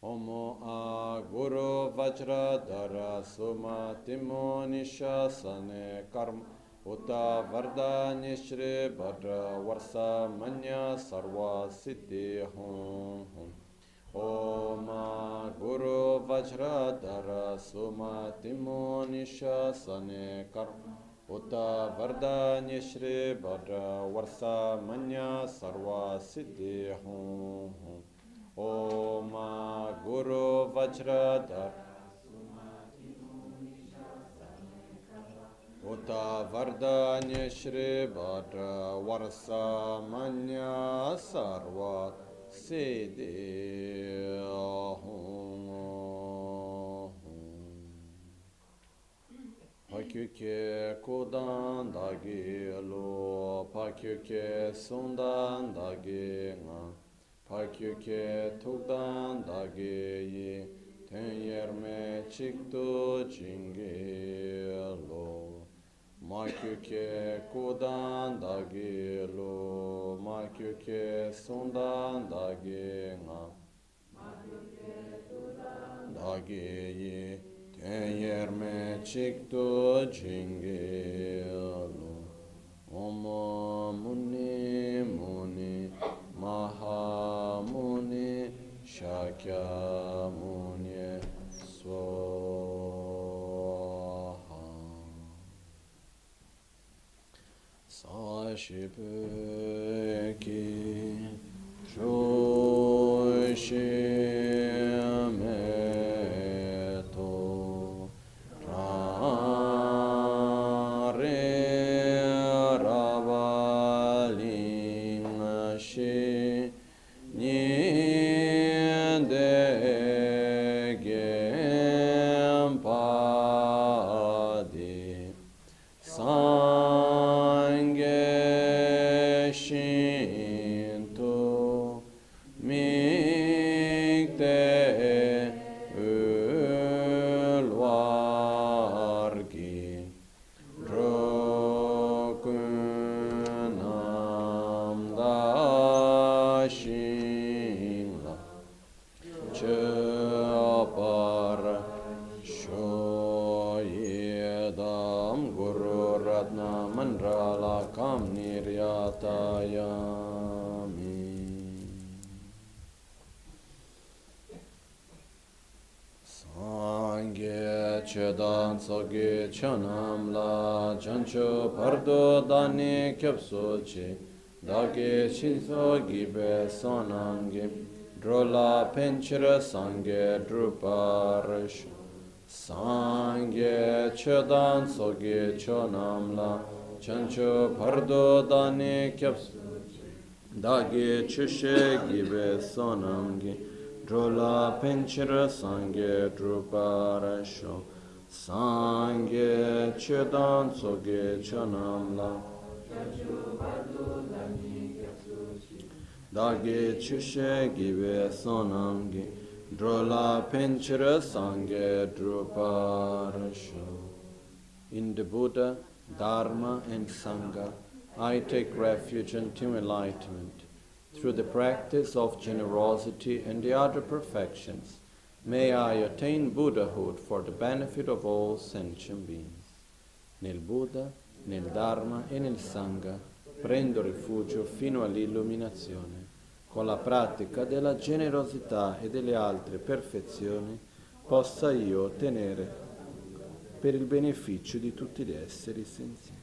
Omo a Guru Vajradhara Suma Timo Nishasane Karma Uta Vardhani Shri Bhadra Varsa Manya Sarva Siddhi Hum Hum Om Guru Vajradhara Suma Timo Nishasane Karma Uta Vardhani Shri Bhadra Varsa Manya Sarva Siddhi Hum Hum Om Guru Vajradhara Uta Vardhanya Shri Bhadra Varsa Manya Sarva Siddhi Hum Pakyuke Kodan Dagi Lo Pakyuke Sundan Dagi Nga Pakyuke Tugdan Dagi Yi Tenyerme Chikto Jingi Lo Makyuke Kodan Dagi Lo Makyuke Sundan Dagi Nga Dagi Yi Tenyerme Chikto Jingi Lo Om Muni Muni Maha Muni Shakya Muni Swaha Sashipeki Shoshimeto Rare Ravaling Shi Niende Gempadi Sange Shinto Mikte Ulvargi Drokunam Dashingla Chapar Shoyedam Guru Ratna Mandrala Kam Niryatayami Sangye Chedan Soge Chanam La Chancho Pardo Dani Kyapsochi Dage Shinso Gibe Sonamgi Drola Penchira Sangye Druparash Sangye Chedan Soge Chonam La Chancho Pardo Dani Kyapsochi Dage Chushe Gibe Sonamgi Drola Penchira Sangye Druparasho Sangye Chedan Soge Chanamla Dage Chushe Gibe Sonamgi Drola Penchira Sangye Druparasho. In the Buddha, Dharma and Sangha, I take refuge until enlightenment. Through the practice of generosity and the other perfections, may I attain Buddhahood for the benefit of all sentient beings. Nel Buddha, nel Dharma e nel Sangha prendo rifugio fino all'illuminazione. Con la pratica della generosità e delle altre perfezioni possa io ottenere per il beneficio di tutti gli esseri senzienti.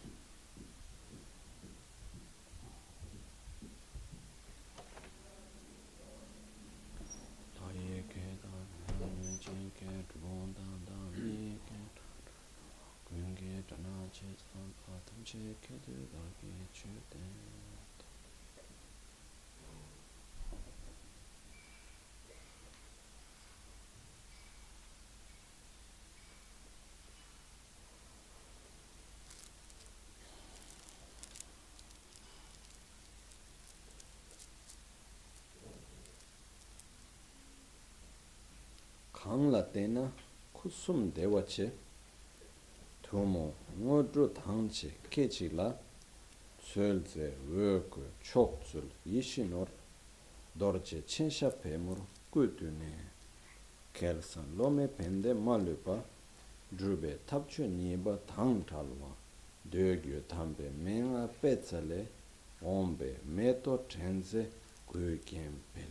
Kāngla tēnā kusum dewa che tūmo ngodru tāngche kechi la tsölze wöku chokzul yishinor dorje chensha pemur kudune kelsan lome pende malupa drube tapchu niba tang talwa dögyu tambe menga petsale ombe meto trenze gugempel.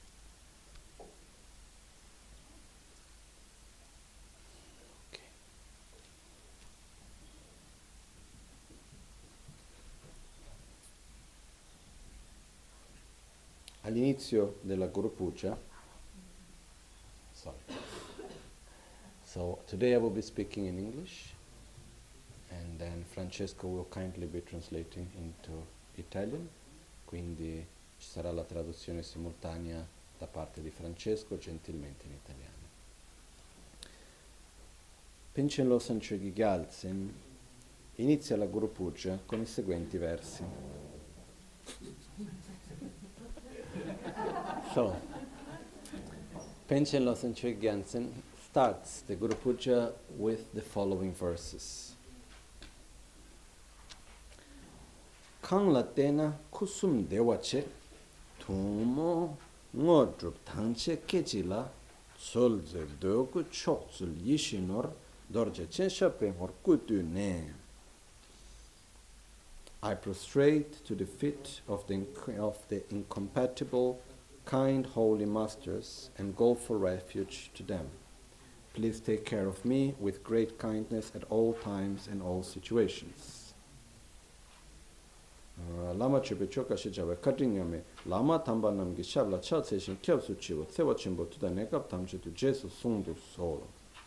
All'inizio della Guru Puja, so today I will be speaking in English, and then Francesco will kindly be translating into Italian, quindi ci sarà la traduzione simultanea da parte di Francesco, gentilmente in italiano. Panchen Losang Chögyal Gyaltsen inizia la Guru Puja con i seguenti versi. So, Panchen Losang Chögyal Gyaltsen starts the Guru Puja with the following verses. Kang la tena kusum dewache tumo ngodrup tangche kechila solze doku chokzul yishinor dorje chenshape hor kutu ne. I prostrate to the feet of the incompatible, kind holy masters and go for refuge to them. Please take care of me with great kindness at all times and all situations. Lama chepe choka shijawe katingame lama tamba namgi shabla cha seshin kyabsu chiwo tsewa chimbo tuda nekab tamche tu jesu sungdu solo.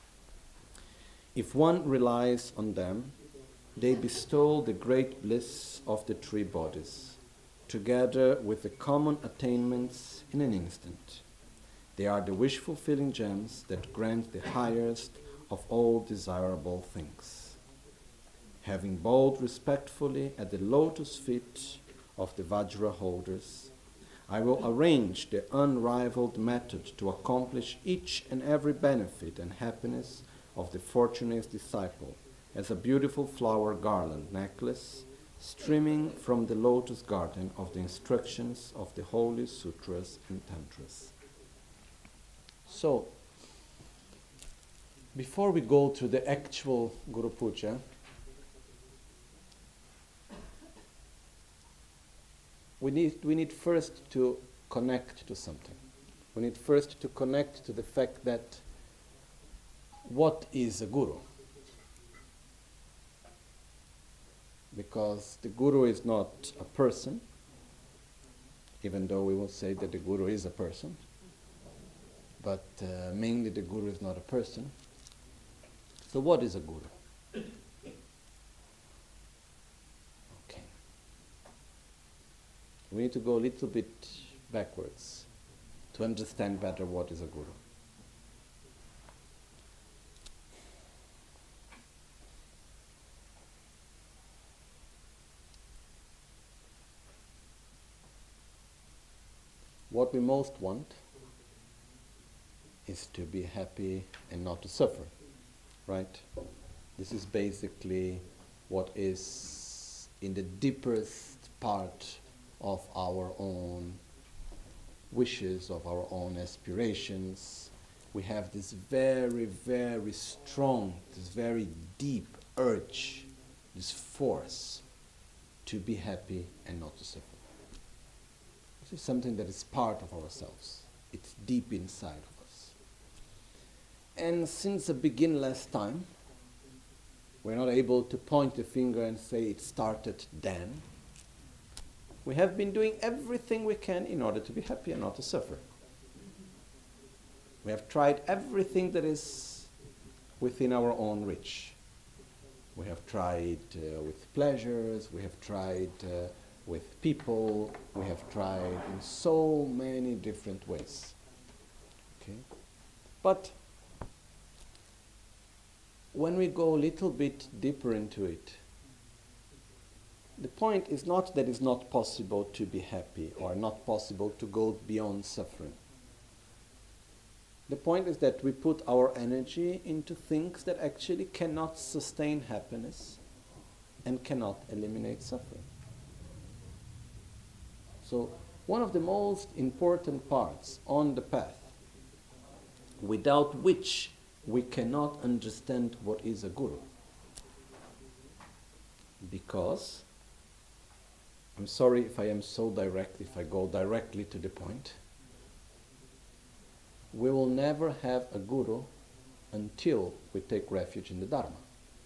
If one relies on them, they bestow the great bliss of the three bodies, together with the common attainments in an instant. They are the wish-fulfilling gems that grant the highest of all desirable things. Having bowed respectfully at the lotus feet of the Vajra holders, I will arrange the unrivaled method to accomplish each and every benefit and happiness of the fortunate disciple as a beautiful flower garland necklace streaming from the lotus garden of the instructions of the holy sutras and tantras. So, before we go to the actual Guru Puja, we need first to connect to something. We need first to connect to the fact that what is a guru? Because the guru is not a person, even though we will say that the guru is a person, but mainly the guru is not a person. So what is a guru? We need to go a little bit backwards to understand better what is a guru. What we most want is to be happy and not to suffer, right? This is basically what is in the deepest part of our own wishes, of our own aspirations. We have this very, very strong, this very deep urge, this force to be happy and not to suffer. This is something that is part of ourselves. It's deep inside of us. And since the beginningless time, we're not able to point the finger and say it started then. We have been doing everything we can in order to be happy and not to suffer. We have tried everything that is within our own reach. We have tried with pleasures, we have tried with people, we have tried in so many different ways. Okay? But when we go a little bit deeper into it, the point is not that it's not possible to be happy or not possible to go beyond suffering. The point is that we put our energy into things that actually cannot sustain happiness and cannot eliminate suffering. So one of the most important parts on the path, without which we cannot understand what is a guru. Because, I'm sorry if I am so direct, if I go directly to the point, we will never have a guru until we take refuge in the Dharma.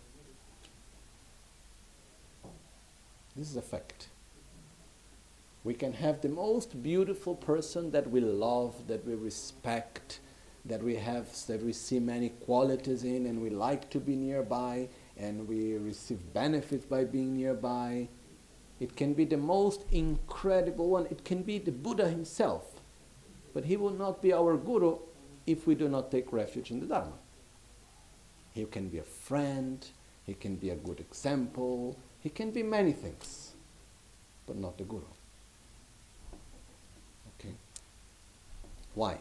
This is a fact. We can have the most beautiful person that we love, that we respect, that we see many qualities in, and we like to be nearby, and we receive benefits by being nearby. It can be the most incredible one. It can be the Buddha himself. But he will not be our guru if we do not take refuge in the Dharma. He can be a friend, he can be a good example, he can be many things, but not the guru. Okay? Why?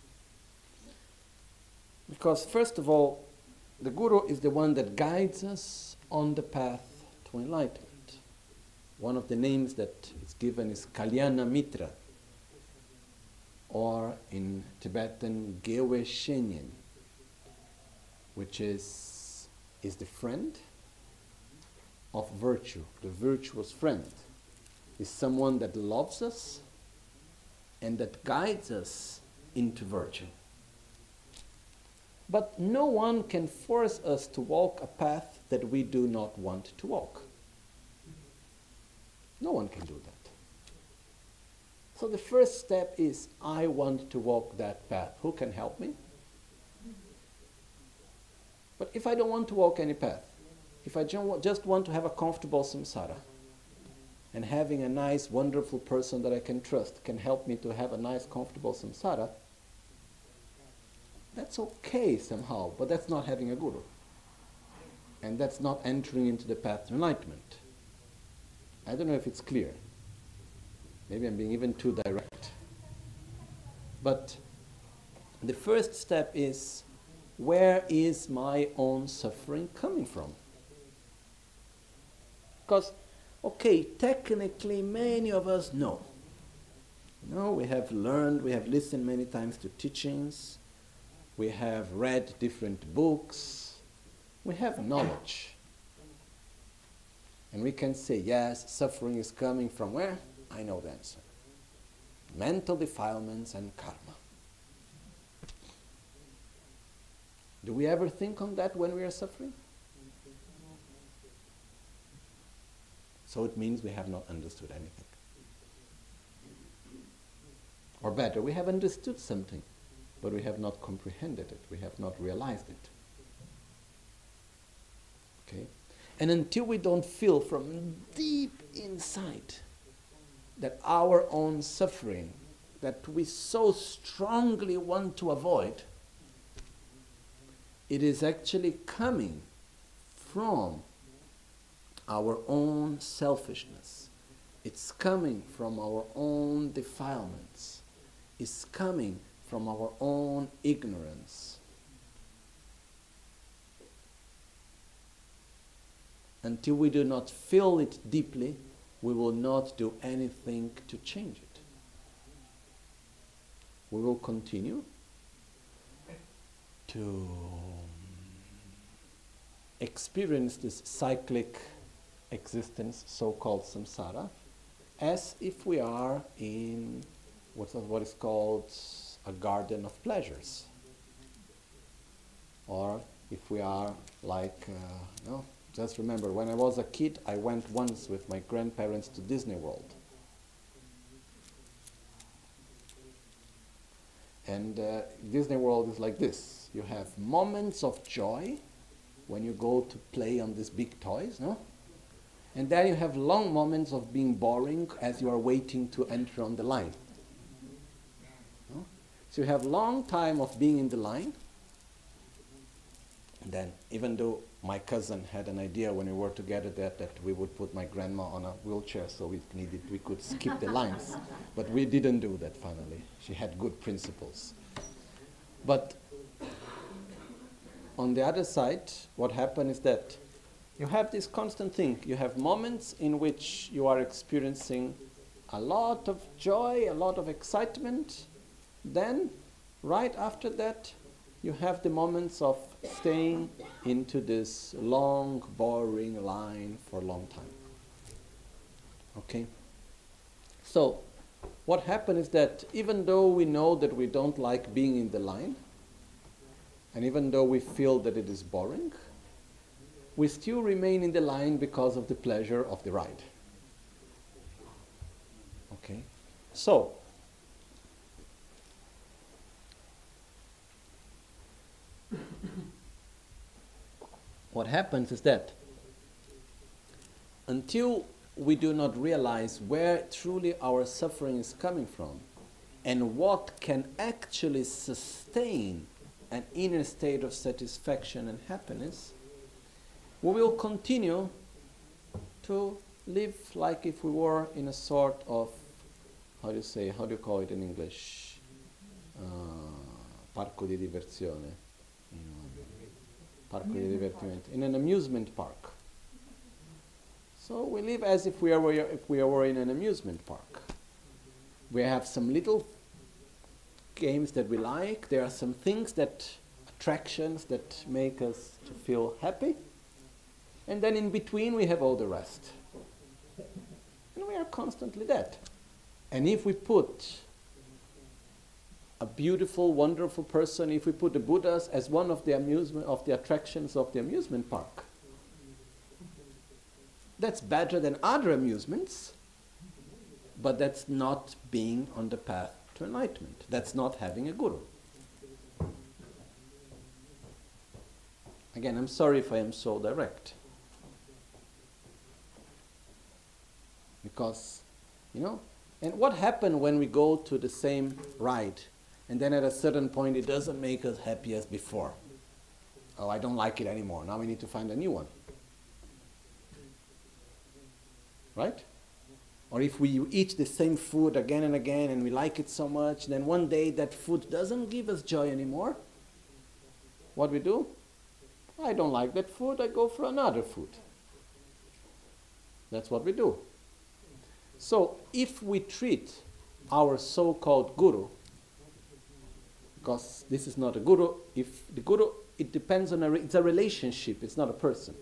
Because first of all, the guru is the one that guides us on the path to enlightenment. One of the names that is given is Kalyana Mitra, or in Tibetan, Gewe Shenyen, which is the friend of virtue, the virtuous friend. Is someone that loves us and that guides us into virtue. But no one can force us to walk a path that we do not want to walk. No one can do that. So the first step is, I want to walk that path. Who can help me? But if I don't want to walk any path, if I just want to have a comfortable samsara, and having a nice, wonderful person that I can trust can help me to have a nice, comfortable samsara, that's okay somehow, but that's not having a guru. And that's not entering into the path to enlightenment. I don't know if it's clear. Maybe I'm being even too direct. But the first step is, where is my own suffering coming from? Because, okay, technically many of us know. We have learned, we have listened many times to teachings, we have read different books, we have knowledge. And we can say, yes, suffering is coming from where? I know the answer. Mental defilements and karma. Do we ever think on that when we are suffering? So it means we have not understood anything. Or better, we have understood something, but we have not comprehended it. We have not realized it. Okay? And until we don't feel from deep inside that our own suffering, that we so strongly want to avoid, it is actually coming from our own selfishness. It's coming from our own defilements. It's coming from our own ignorance. Until we do not feel it deeply, we will not do anything to change it. We will continue to experience this cyclic existence, so-called samsara, as if we are in what is called a garden of pleasures. Or if we are like, just remember, when I was a kid, I went once with my grandparents to Disney World. And Disney World is like this. You have moments of joy when you go to play on these big toys, no? And then you have long moments of being boring as you are waiting to enter on the line. No? So you have long time of being in the line. And then, even though my cousin had an idea when we were together that we would put my grandma on a wheelchair so we could skip the lines. But we didn't do that finally. She had good principles. But on the other side, what happened is that you have this constant thing. You have moments in which you are experiencing a lot of joy, a lot of excitement. Then, right after that, you have the moments of staying into this long, boring line for a long time. Okay? So, what happened is that even though we know that we don't like being in the line, and even though we feel that it is boring, we still remain in the line because of the pleasure of the ride. Okay? So, what happens is that until we do not realize where truly our suffering is coming from and what can actually sustain an inner state of satisfaction and happiness, we will continue to live like if we were in a sort of, how do you call it in English? Parco di diversione. Parco di divertimento. In an amusement park. So we live as if we were in an amusement park. We have some little games that we like. There are some things attractions that make us to feel happy. And then in between we have all the rest. And we are constantly that. And if we put a beautiful, wonderful person, if we put the Buddhas as one of the attractions of the amusement park, that's better than other amusements, but that's not being on the path to enlightenment. That's not having a guru. Again, I'm sorry if I am so direct. Because, and what happened when we go to the same ride and then at a certain point it doesn't make us happy as before? Oh, I don't like it anymore. Now we need to find a new one. Right? Or if we eat the same food again and again and we like it so much, then one day that food doesn't give us joy anymore. What we do? I don't like that food, I go for another food. That's what we do. So if we treat our so-called guru, because this is not a guru, if the guru, it depends on it's a relationship, it's not a person.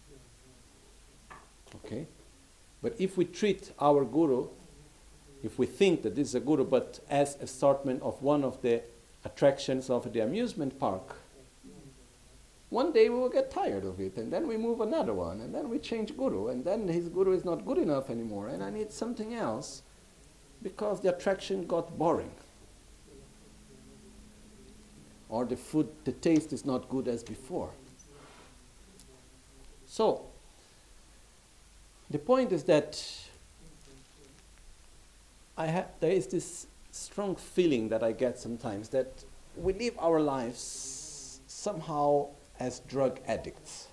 Okay? But if we treat our guru, if we think that this is a guru, but as a assortment of one of the attractions of the amusement park, one day we will get tired of it, and then we move another one, and then we change guru, and then his guru is not good enough anymore, and I need something else because the attraction got boring. Or the food, the taste is not good as before. So, the point is that there is this strong feeling that I get sometimes that we live our lives somehow as drug addicts.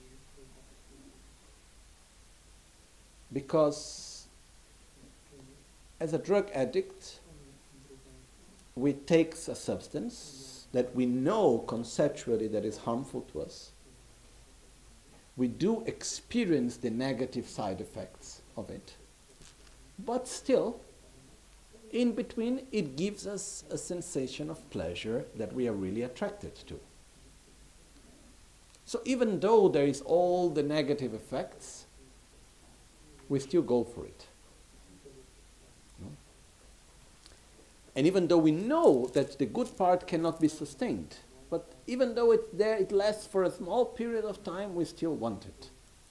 Because as a drug addict, we take a substance that we know conceptually that is harmful to us. We do experience the negative side effects of it. But still, in between, it gives us a sensation of pleasure that we are really attracted to. So even though there is all the negative effects, we still go for it. And even though we know that the good part cannot be sustained, but even though it's there, it lasts for a small period of time, we still want it.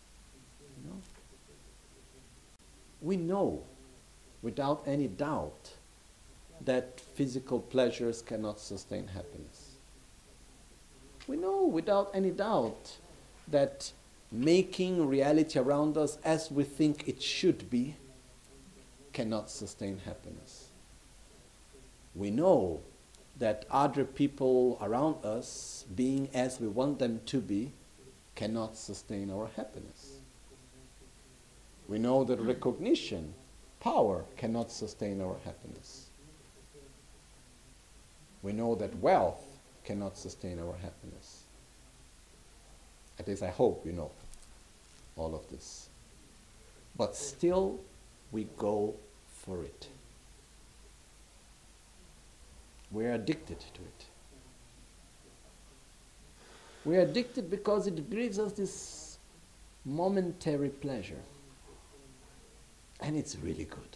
We know, without any doubt, that physical pleasures cannot sustain happiness. We know, without any doubt, that making reality around us as we think it should be cannot sustain happiness. We know that other people around us, being as we want them to be, cannot sustain our happiness. We know that recognition, power, cannot sustain our happiness. We know that wealth cannot sustain our happiness. At least I hope you know all of this. But still, we go for it. We're addicted to it. We are addicted because it gives us this momentary pleasure. And it's really good.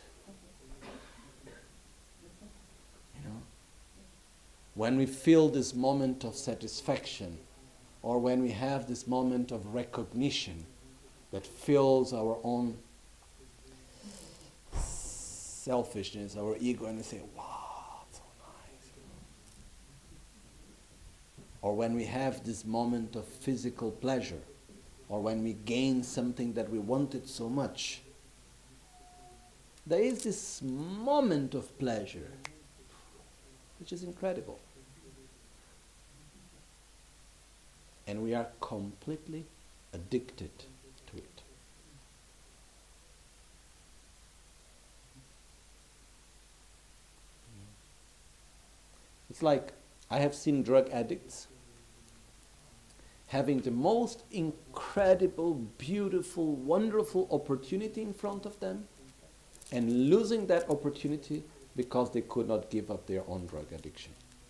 You know? When we feel this moment of satisfaction, or when we have this moment of recognition that fills our own selfishness, our ego, and we say, wow, so nice. Or when we have this moment of physical pleasure, or when we gain something that we wanted so much, there is this moment of pleasure, which is incredible. And we are completely addicted to it. It's like I have seen drug addicts having the most incredible, beautiful, wonderful opportunity in front of them and losing that opportunity because they could not give up their own drug addiction.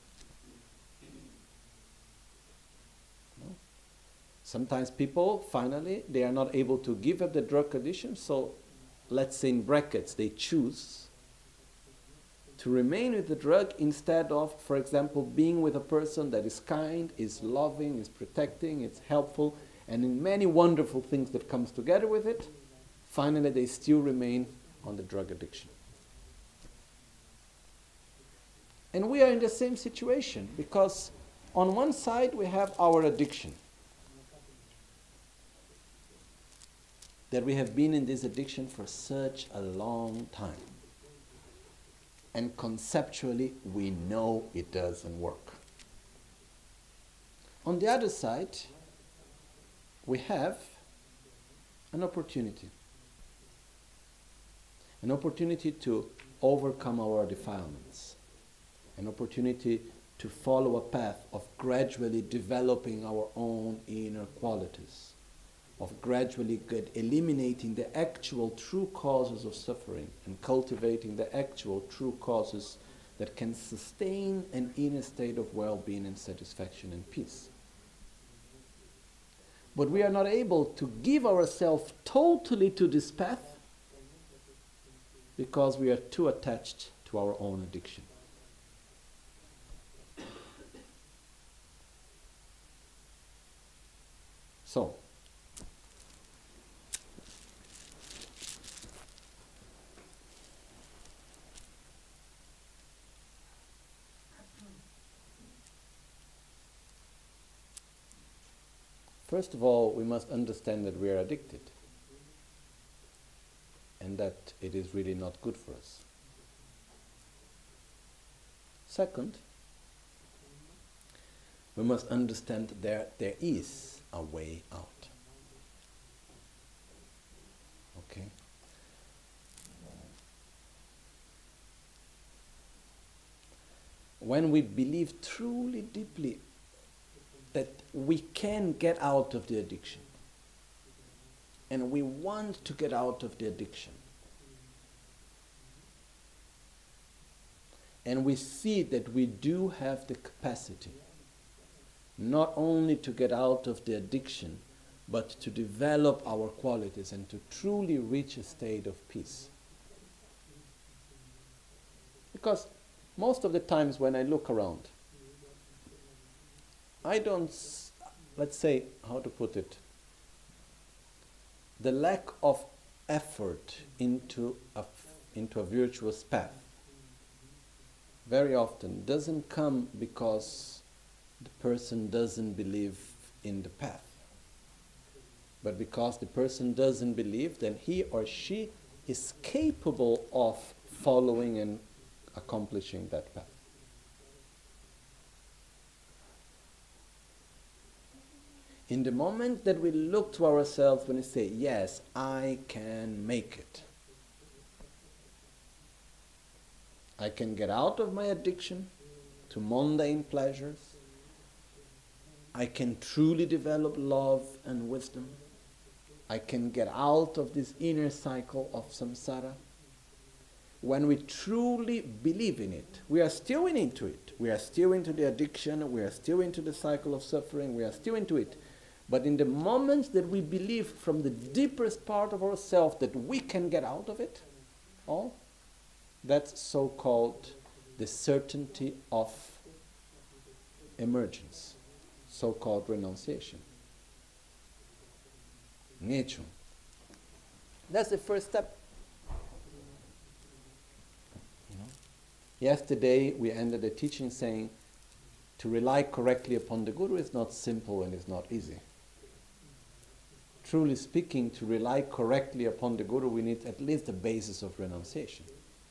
No? Sometimes people, finally, they are not able to give up the drug addiction, so let's say in brackets, they choose to remain with the drug instead of, for example, being with a person that is kind, is loving, is protecting, is helpful, and in many wonderful things that comes together with it, finally they still remain on the drug addiction. And we are in the same situation because on one side we have our addiction. That we have been in this addiction for such a long time. And conceptually we know it doesn't work. On the other side, we have an opportunity. An opportunity to overcome our defilements. An opportunity to follow a path of gradually developing our own inner qualities. Of gradually eliminating the actual true causes of suffering and cultivating the actual true causes that can sustain an inner state of well-being and satisfaction and peace. But we are not able to give ourselves totally to this path because we are too attached to our own addiction. So, first of all, we must understand that we are addicted and that it is really not good for us. Second, we must understand that there is a way out. Okay? When we believe truly deeply that we can get out of the addiction, and we want to get out of the addiction, and we see that we do have the capacity not only to get out of the addiction, but to develop our qualities and to truly reach a state of peace. Because most of the times when I look around, I don't, let's say, how to put it, the lack of effort into a virtuous path very often doesn't come because the person doesn't believe in the path, but because the person doesn't believe that he or she is capable of following and accomplishing that path. In the moment that we look to ourselves when we say, yes, I can make it. I can get out of my addiction to mundane pleasures. I can truly develop love and wisdom. I can get out of this inner cycle of samsara. when we truly believe in it. We are still into it. We are still into the addiction. We are still into the cycle of suffering. We are still into it. But in the moments that we believe from the deepest part of ourselves that we can get out of it all, that's so-called the certainty of emergence, so-called renunciation. Ngechung. That's the first step. Yesterday we ended the teaching saying to rely correctly upon the Guru is not simple and is not easy. Truly speaking, to rely correctly upon the Guru, we need at least a basis of renunciation.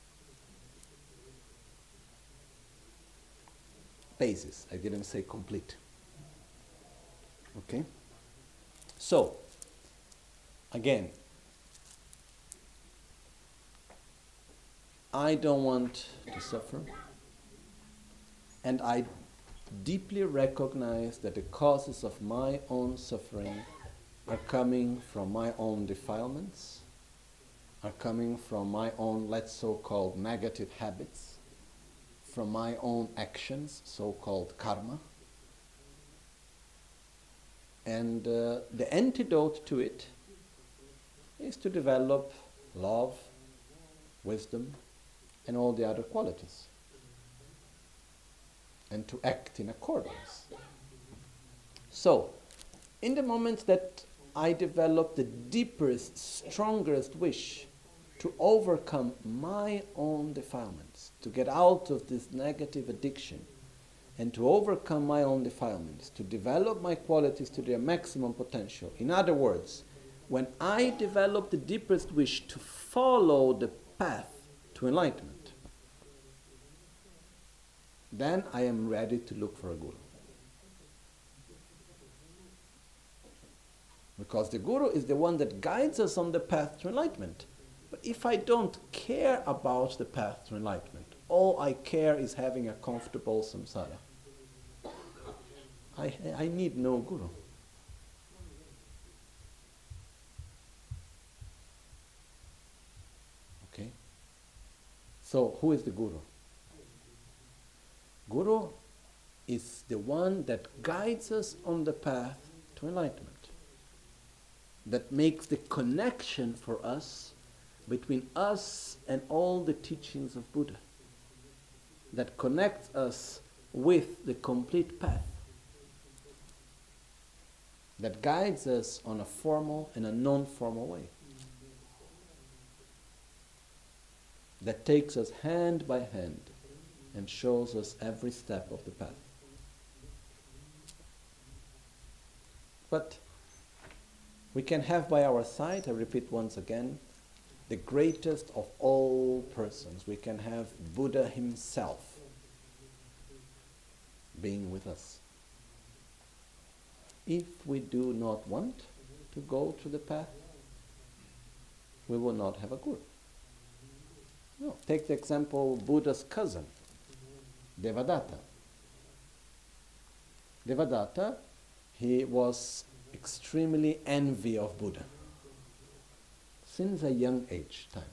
Basis, I didn't say complete. Okay? So, again, I don't want to suffer, and I deeply recognize that the causes of my own suffering are coming from my own defilements, are coming from my own, let's so-called negative habits, from my own actions, so-called karma. And the antidote to it is to develop love, wisdom, and all the other qualities, and to act in accordance. So, in the moment that I develop the deepest, strongest wish to overcome my own defilements, to get out of this negative addiction, and to overcome my own defilements, to develop my qualities to their maximum potential. In other words, when I develop the deepest wish to follow the path to enlightenment, then I am ready to look for a Guru. Because the Guru is the one that guides us on the path to enlightenment. But if I don't care about the path to enlightenment, all I care is having a comfortable samsara, I need no Guru. Okay? So, who is the Guru? Guru is the one that guides us on the path to enlightenment, that makes the connection for us between us and all the teachings of Buddha, that connects us with the complete path, that guides us on a formal and a non-formal way, that takes us hand by hand and shows us every step of the path. But we can have by our side, I repeat once again, the greatest of all persons. We can have Buddha himself being with us. If we do not want to go to the path, we will not have a Guru. No. Take the example of Buddha's cousin, Devadatta. Devadatta, he was extremely envy of Buddha since a young age time.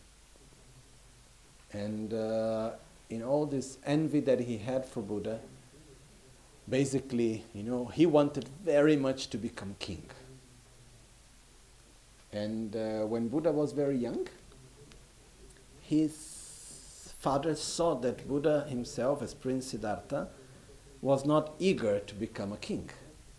And in all this envy that he had for Buddha, basically, he wanted very much to become king. And when Buddha was very young, his father saw that Buddha himself, as Prince Siddhartha, was not eager to become a king.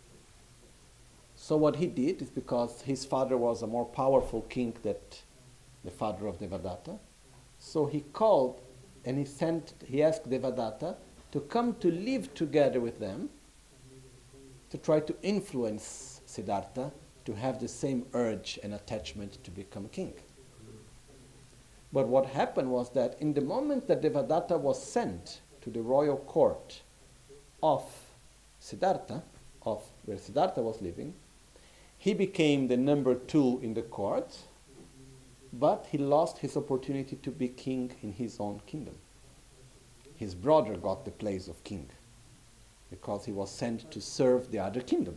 So what he did is, because his father was a more powerful king than the father of Devadatta, so he called and he asked Devadatta to come to live together with them, to try to influence Siddhartha to have the same urge and attachment to become king. But what happened was that in the moment that Devadatta was sent to the royal court of Siddhartha, of where Siddhartha was living, he became the number 2 in the court, but he lost his opportunity to be king in his own kingdom. His brother got the place of king because he was sent to serve the other kingdom.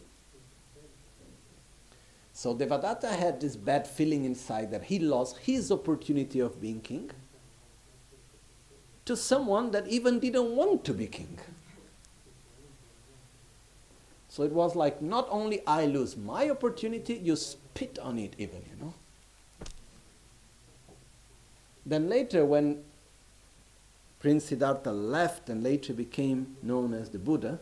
So Devadatta had this bad feeling inside that he lost his opportunity of being king, to someone that even didn't want to be king. So it was like, not only I lose my opportunity, you spit on it even, you know. Then later, when Prince Siddhartha left and later became known as the Buddha,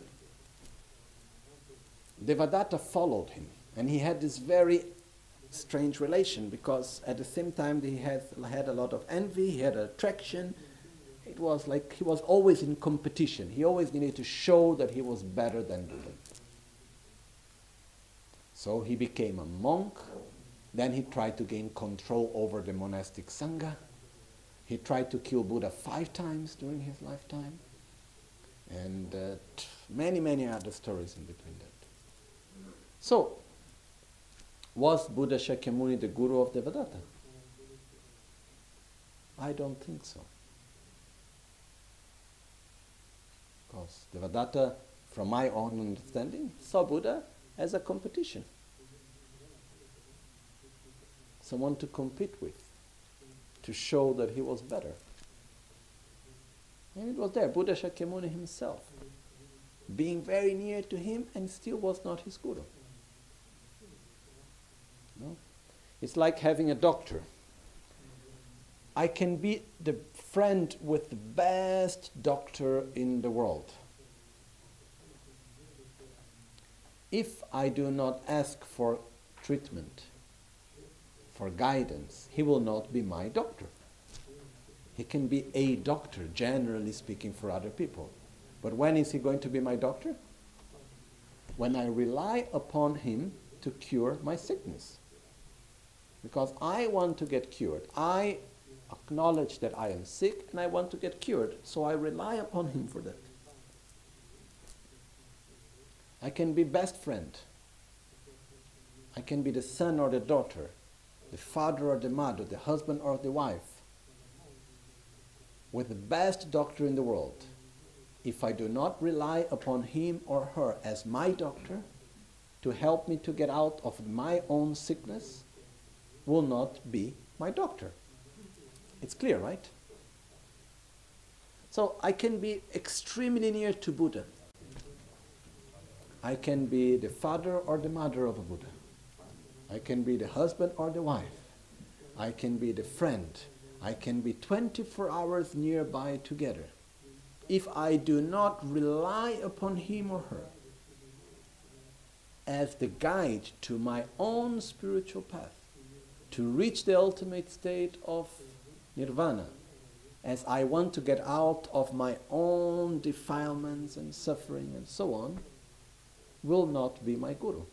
Devadatta followed him. And he had this very strange relation, because at the same time he had a lot of envy, he had attraction. It was like he was always in competition. He always needed to show that he was better than Buddha. So he became a monk. Then he tried to gain control over the monastic sangha. He tried to kill Buddha 5 times during his lifetime. And many, many other stories in between that. So, was Buddha Shakyamuni the guru of Devadatta? I don't think so. Because Devadatta, from my own understanding, saw Buddha as a competition. Someone to compete with, to show that he was better. And it was there, Buddha Shakyamuni himself, being very near to him and still was not his guru. No? It's like having a doctor. I can be the friend with the best doctor in the world. If I do not ask for treatment, for guidance, he will not be my doctor. He can be a doctor, generally speaking, for other people. But when is he going to be my doctor? When I rely upon him to cure my sickness. Because I want to get cured. I acknowledge that I am sick and I want to get cured. So I rely upon him for that. I can be best friend. I can be the son or the daughter, the father or the mother, the husband or the wife, with the best doctor in the world. If I do not rely upon him or her as my doctor to help me to get out of my own sickness, will not be my doctor. It's clear, right? So I can be extremely near to Buddha. I can be the father or the mother of a Buddha. I can be the husband or the wife. I can be the friend. I can be 24 hours nearby together. If I do not rely upon him or her as the guide to my own spiritual path, to reach the ultimate state of nirvana, as I want to get out of my own defilements and suffering and so on, will not be my guru.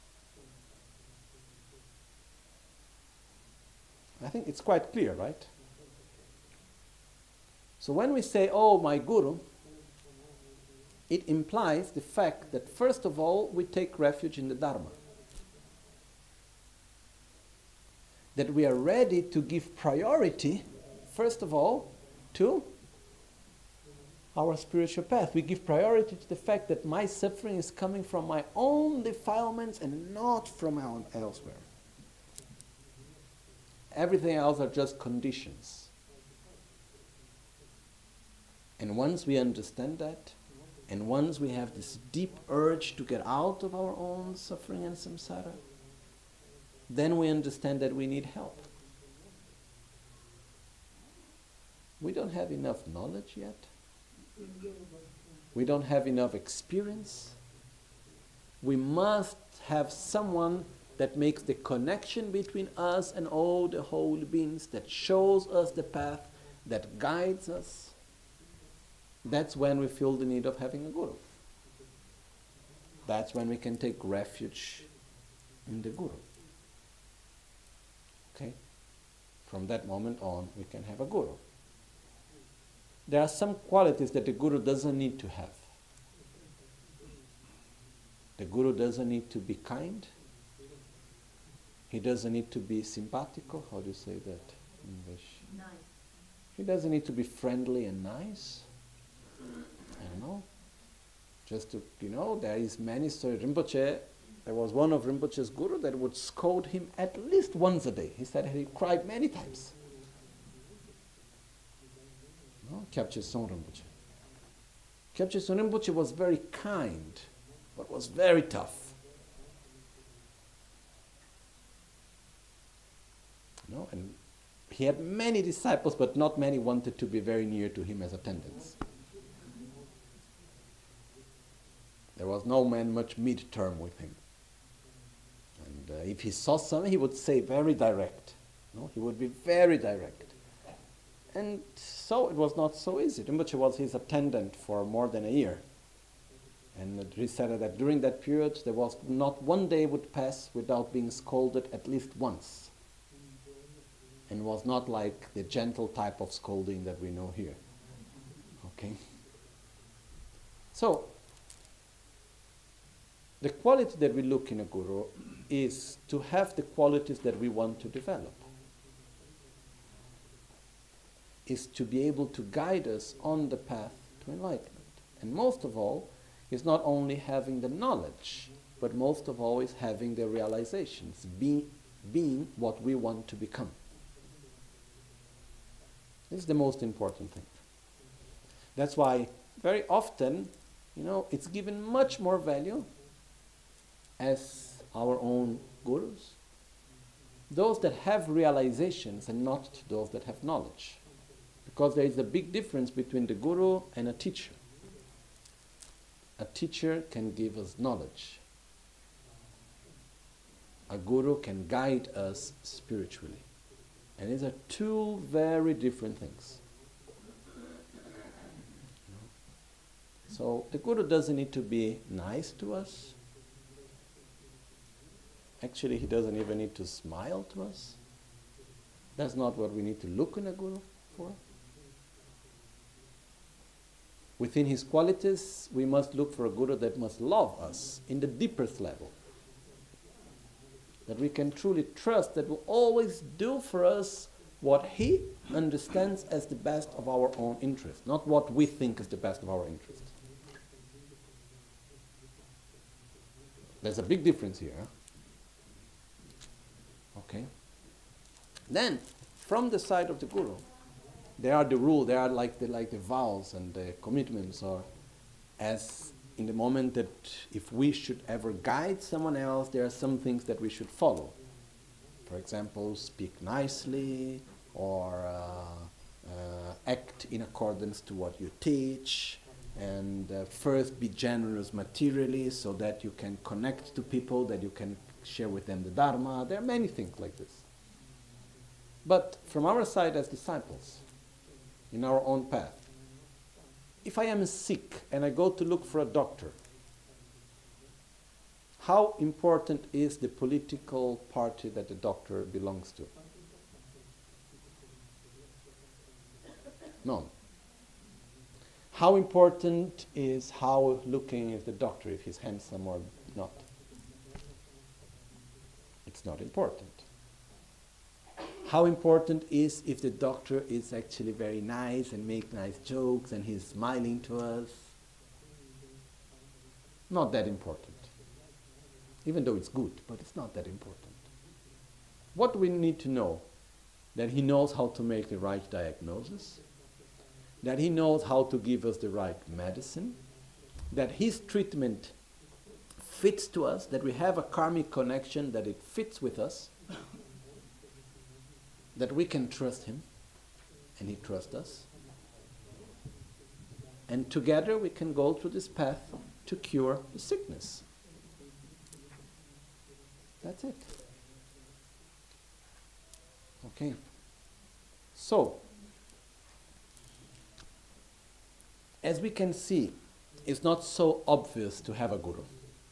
I think it's quite clear, right? So when we say, oh, my guru, it implies the fact that first of all, we take refuge in the Dharma. That we are ready to give priority, first of all, to our spiritual path. We give priority to the fact that my suffering is coming from my own defilements and not from elsewhere. Everything else are just conditions. And once we understand that, and once we have this deep urge to get out of our own suffering and samsara, then we understand that we need help. We don't have enough knowledge yet. We don't have enough experience. We must have someone that makes the connection between us and all the holy beings, that shows us the path, that guides us. That's when we feel the need of having a guru. That's when we can take refuge in the guru. Okay? From that moment on, we can have a guru. There are some qualities that the guru doesn't need to have. The guru doesn't need to be kind. He doesn't need to be simpatico. How do you say that in English? Nice. He doesn't need to be friendly and nice. I don't know. Just to, there is many stories. Rinpoche, there was one of Rinpoche's guru that would scold him at least once a day. He said he cried many times. Kyabche Son Rinpoche. Kyabche Son Rinpoche was very kind, but was very tough. And he had many disciples, but not many wanted to be very near to him as attendants. There was no man much mid-term with him. And if he saw something, he would say very direct. He would be very direct. And so it was not so easy. Rinpoche was his attendant for more than a year. And he said that during that period, there was not one day would pass without being scolded at least once. And was not like the gentle type of scolding that we know here. Okay? So, the quality that we look in a guru is to have the qualities that we want to develop. Is to be able to guide us on the path to enlightenment. And most of all, is not only having the knowledge, but most of all is having the realizations, being what we want to become. This is the most important thing. That's why very often, it's given much more value as our own gurus, those that have realizations and not those that have knowledge. Because there is a big difference between the guru and a teacher. A teacher can give us knowledge. A guru can guide us spiritually. And these are two very different things. So the guru doesn't need to be nice to us. Actually, he doesn't even need to smile to us. That's not what we need to look in a guru for. Within his qualities, we must look for a guru that must love us in the deepest level. That we can truly trust, that will always do for us what he understands as the best of our own interest, not what we think is the best of our interest. There's a big difference here. Okay? Then, from the side of the guru, there are the rules, there are like the vows and the commitments, or as in the moment that if we should ever guide someone else, there are some things that we should follow. For example, speak nicely, or act in accordance to what you teach, and first be generous materially so that you can connect to people, that you can share with them the Dharma. There are many things like this. But from our side as disciples, in our own path, if I am sick and I go to look for a doctor, how important is the political party that the doctor belongs to? None. How important is how looking is the doctor, if he's handsome or not? It's not important. How important is if the doctor is actually very nice and make nice jokes and he's smiling to us? Not that important. Even though it's good, but it's not that important. What we need to know, that he knows how to make the right diagnosis, that he knows how to give us the right medicine, that his treatment fits to us, that we have a karmic connection, that it fits with us, that we can trust him, and he trusts us. And together we can go through this path to cure the sickness. That's it. Okay. So, as we can see, it's not so obvious to have a guru.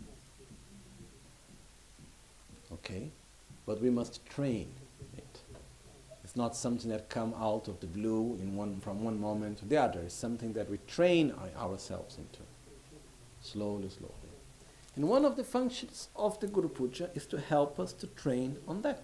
Okay? But we must train it. It's not something that comes out of the blue from one moment to the other. It's something that we train ourselves into. Slowly, slowly. And one of the functions of the Guru Puja is to help us to train on that.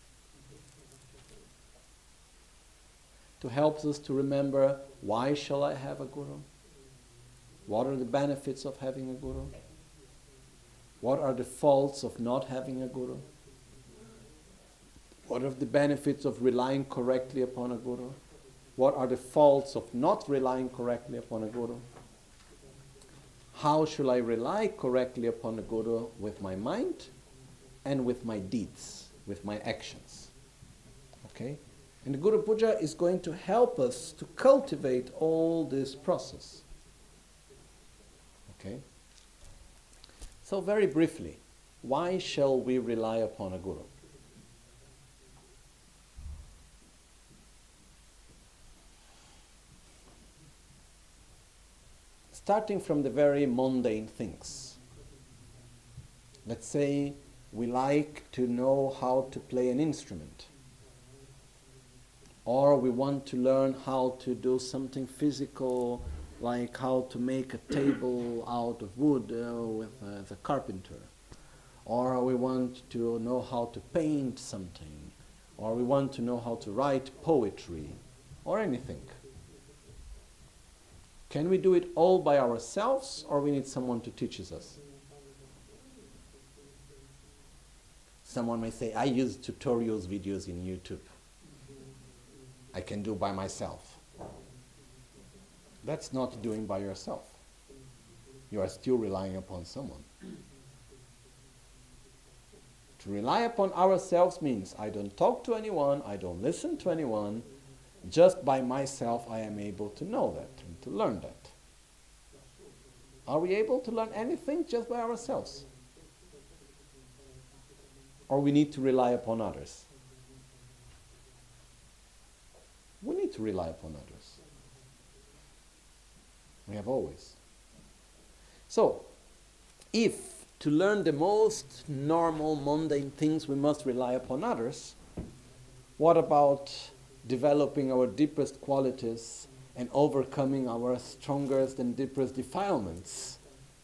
To help us to remember, why shall I have a guru? What are the benefits of having a guru? What are the faults of not having a guru? What are the benefits of relying correctly upon a guru? What are the faults of not relying correctly upon a guru? How should I rely correctly upon a guru with my mind and with my deeds, with my actions? Okay? And the Guru Puja is going to help us to cultivate all this process. Okay? So very briefly, why shall we rely upon a guru? Starting from the very mundane things. Let's say we like to know how to play an instrument. Or we want to learn how to do something physical, like how to make a table out of wood with the carpenter. Or we want to know how to paint something. Or we want to know how to write poetry. Or anything. Can we do it all by ourselves, or we need someone to teach us? Someone may say, I use tutorials videos in YouTube. I can do by myself. That's not doing by yourself. You are still relying upon someone. To rely upon ourselves means I don't talk to anyone, I don't listen to anyone. Just by myself I am able to know that and to learn that. Are we able to learn anything just by ourselves? Or we need to rely upon others? We need to rely upon others. We have always. So, if to learn the most normal, mundane things we must rely upon others, what about developing our deepest qualities and overcoming our strongest and deepest defilements?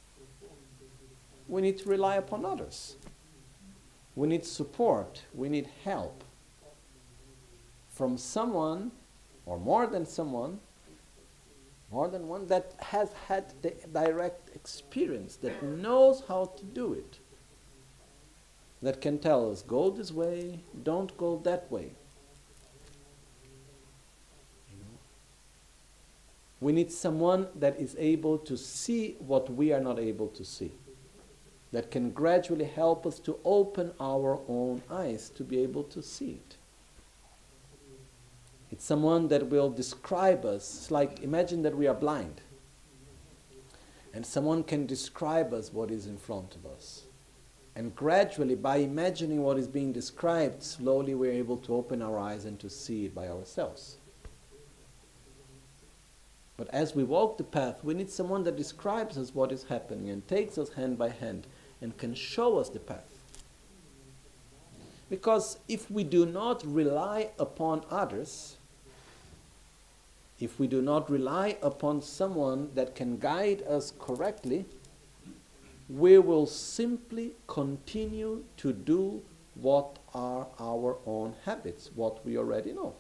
We need to rely upon others. We need support. We need help from someone, or more than someone, more than one, that has had the direct experience, that knows how to do it, that can tell us, go this way, don't go that way. We need someone that is able to see what we are not able to see, that can gradually help us to open our own eyes to be able to see it. It's someone that will describe us. It's like, imagine that we are blind, and someone can describe us what is in front of us. And gradually, by imagining what is being described, slowly we're able to open our eyes and to see it by ourselves. But as we walk the path, we need someone that describes us what is happening and takes us hand by hand and can show us the path. Because if we do not rely upon others, if we do not rely upon someone that can guide us correctly, we will simply continue to do what are our own habits, what we already know.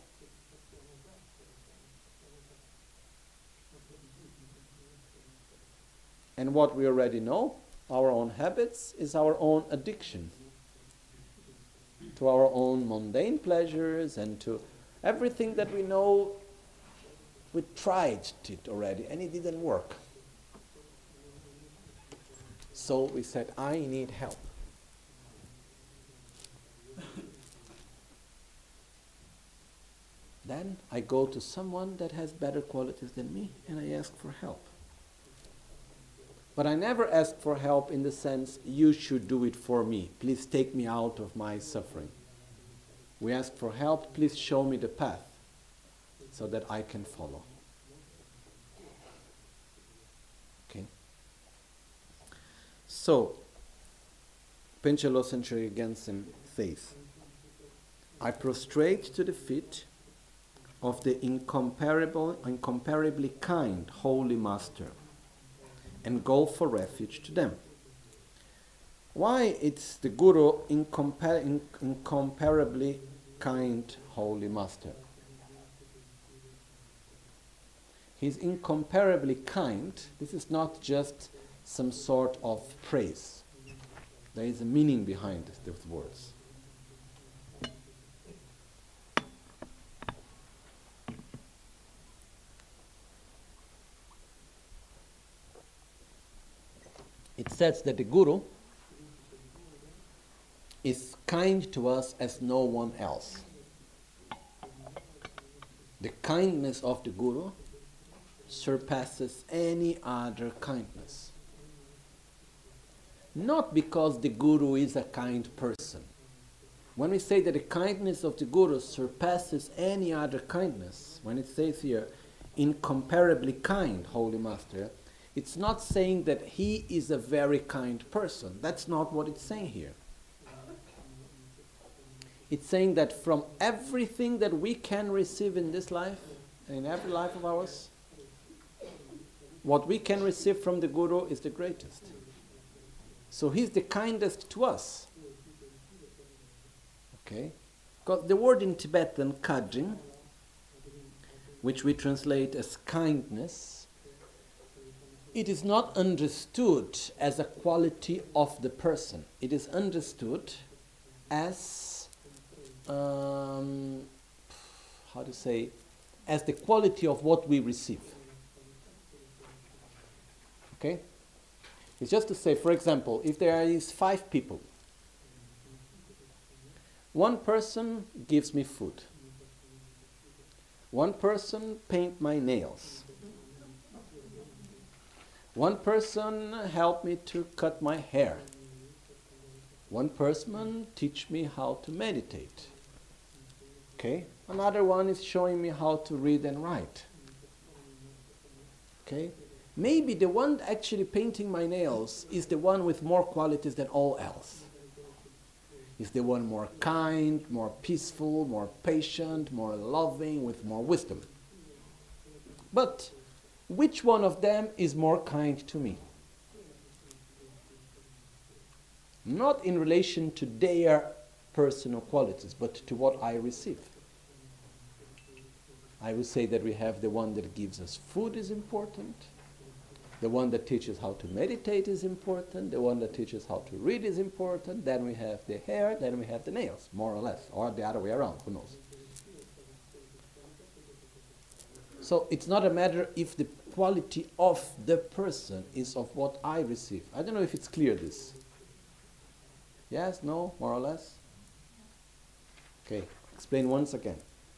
And what we already know, our own habits, is our own addiction to our own mundane pleasures and to everything that we know. We tried it already and it didn't work. So we said, I need help. Then I go to someone that has better qualities than me and I ask for help. But I never ask for help in the sense, you should do it for me. Please take me out of my suffering. We ask for help, please show me the path so that I can follow. Okay? So, Panchen Losang Gyaltsab says, I prostrate to the feet of the incomparably kind Holy Master and go for refuge to them. Why it's the Guru incomparably kind Holy Master? He's incomparably kind. This is not just some sort of praise. There is a meaning behind those words. it says that the Guru is kind to us as no one else. The kindness of the Guru surpasses any other kindness. Not because the Guru is a kind person. When we say that the kindness of the Guru surpasses any other kindness, when it says here, incomparably kind, Holy Master, it's not saying that he is a very kind person. That's not what it's saying here. It's saying that from everything that we can receive in this life, and in every life of ours, what we can receive from the Guru is the greatest. So he's the kindest to us. Okay? Because the word in Tibetan, kajing, which we translate as kindness, it is not understood as a quality of the person. It is understood as, how to say, as the quality of what we receive. Okay? It's just to say, for example, if there is 5 people, one person gives me food, one person paint my nails, one person help me to cut my hair, one person teach me how to meditate, okay? Another one is showing me how to read and write, okay? Maybe the one actually painting my nails is the one with more qualities than all else. Is the one more kind, more peaceful, more patient, more loving, with more wisdom. But which one of them is more kind to me? Not in relation to their personal qualities, but to what I receive. I would say that we have the one that gives us food is important. The one that teaches how to meditate is important. The one that teaches how to read is important. Then we have the hair, then we have the nails, more or less. Or the other way around, who knows. So it's not a matter if the quality of the person is of what I receive. I don't know if it's clear, this. Yes, no, more or less? Okay, explain once again.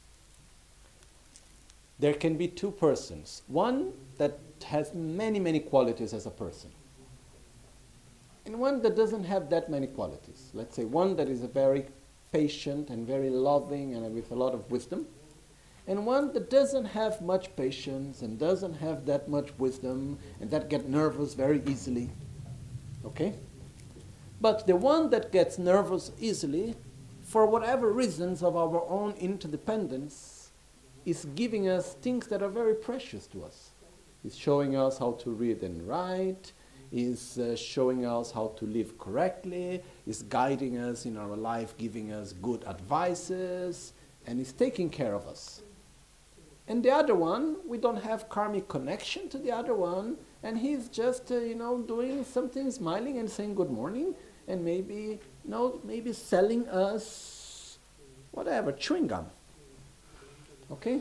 There can be 2 persons. One that has many, many qualities as a person. And one that doesn't have that many qualities. Let's say one that is a very patient and very loving and with a lot of wisdom. And one that doesn't have much patience and doesn't have that much wisdom and that gets nervous very easily. Okay? But the one that gets nervous easily, for whatever reasons of our own interdependence, is giving us things that are very precious to us. Is showing us how to read and write, is showing us how to live correctly, is guiding us in our life, giving us good advices, and is taking care of us. And the other one, we don't have karmic connection to the other one, and he's just, doing something, smiling and saying good morning, and maybe selling us, whatever, chewing gum. Okay?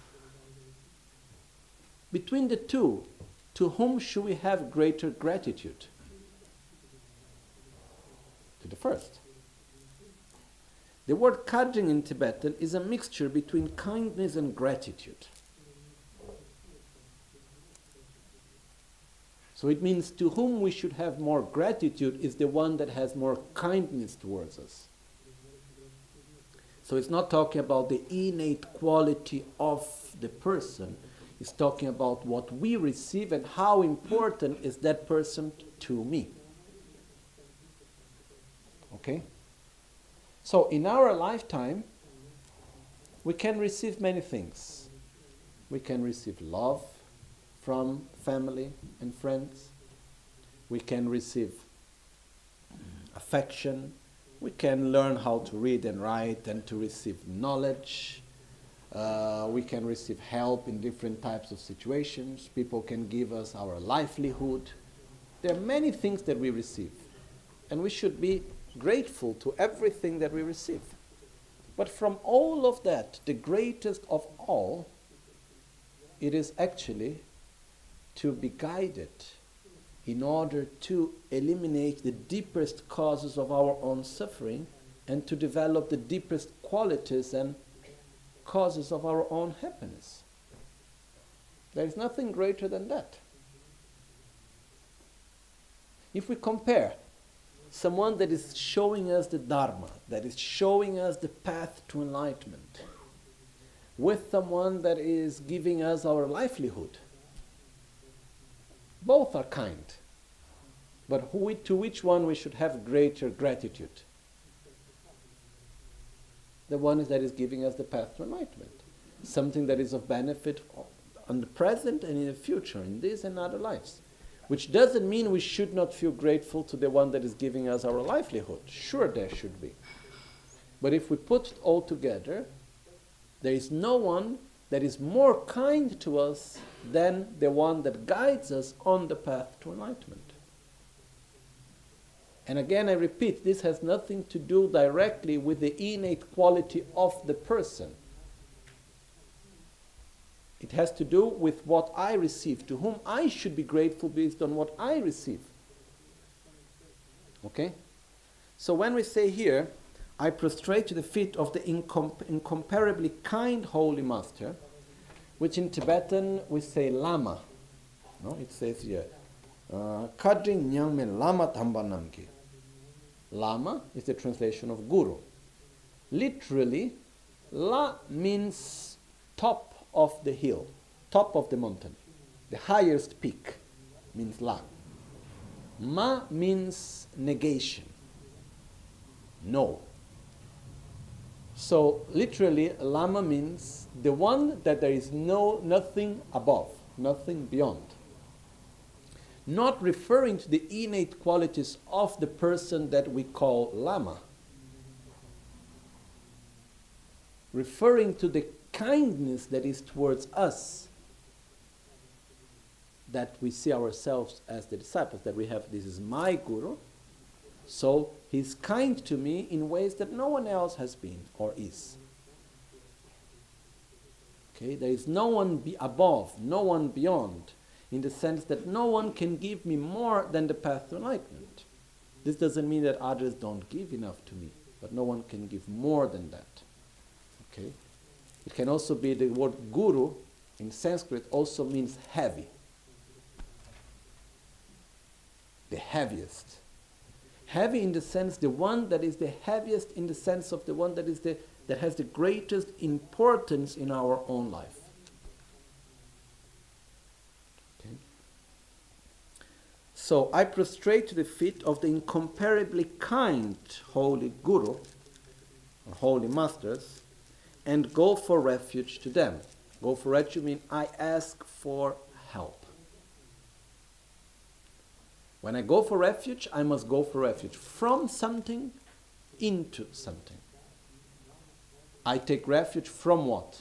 Between the 2, to whom should we have greater gratitude? To the first. The word kajing in Tibetan is a mixture between kindness and gratitude. So it means to whom we should have more gratitude is the one that has more kindness towards us. So it's not talking about the innate quality of the person. It's talking about what we receive and how important is that person to me. Okay? So in our lifetime, we can receive many things. We can receive love from family and friends. We can receive affection. We can learn how to read and write and to receive knowledge. We can receive help in different types of situations. People can give us our livelihood. There are many things that we receive. And we should be grateful to everything that we receive. But from all of that, the greatest of all, it is actually to be guided in order to eliminate the deepest causes of our own suffering and to develop the deepest qualities and causes of our own happiness. There is nothing greater than that. If we compare someone that is showing us the Dharma, that is showing us the path to enlightenment, with someone that is giving us our livelihood, both are kind. But to which one we should have greater gratitude? The one that is giving us the path to enlightenment. Something that is of benefit on the present and in the future, in this and other lives. Which doesn't mean we should not feel grateful to the one that is giving us our livelihood. Sure, there should be. But if we put it all together, there is no one that is more kind to us than the one that guides us on the path to enlightenment. And again, I repeat, this has nothing to do directly with the innate quality of the person. It has to do with what I receive, to whom I should be grateful based on what I receive. Okay? So when we say here, I prostrate to the feet of the incomparably kind Holy Master, which in Tibetan we say Lama. No? It says here, Kadri Nyangme Lama Tambanamki. Lama is the translation of Guru. Literally, La means top of the hill, top of the mountain. The highest peak means La. Ma means negation. No. So literally, Lama means the one that there is nothing above, nothing beyond. Not referring to the innate qualities of the person that we call Lama. Referring to the kindness that is towards us, that we see ourselves as the disciples, that we have, this is my Guru, so he's kind to me in ways that no one else has been or is. Okay, there is no one above, no one beyond, in the sense that no one can give me more than the path to enlightenment. This doesn't mean that others don't give enough to me, but no one can give more than that. Okay? It can also be the word guru in Sanskrit also means heavy. The heaviest. Heavy in the sense, the one that is the heaviest in the sense of the one that is that has the greatest importance in our own life. Okay. So I prostrate to the feet of the incomparably kind Holy Guru, or Holy Masters, and go for refuge to them. Go for refuge means I ask for help. When I go for refuge, I must go for refuge from something into something. I take refuge from what?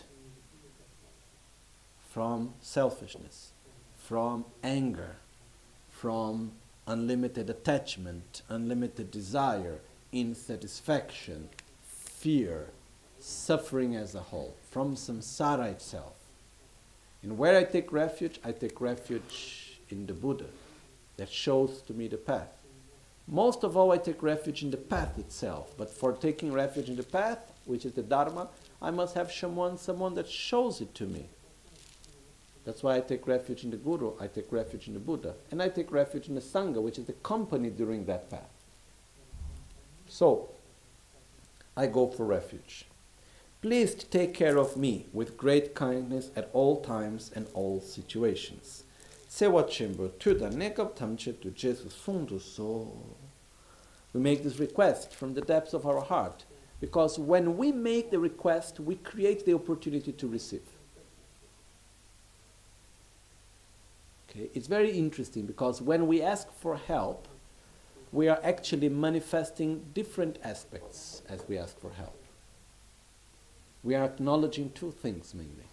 From selfishness, from anger, from unlimited attachment, unlimited desire, insatisfaction, fear, suffering as a whole, from samsara itself. And where I take refuge in the Buddha, that shows to me the path. Most of all, I take refuge in the path itself. But for taking refuge in the path, which is the Dharma, I must have someone that shows it to me. That's why I take refuge in the Guru, I take refuge in the Buddha, and I take refuge in the Sangha, which is the company during that path. So, I go for refuge. Please take care of me with great kindness at all times and all situations. We make this request from the depths of our heart, because when we make the request, we create the opportunity to receive. Okay? It's very interesting, because when we ask for help, we are actually manifesting different aspects as we ask for help. We are acknowledging two things mainly.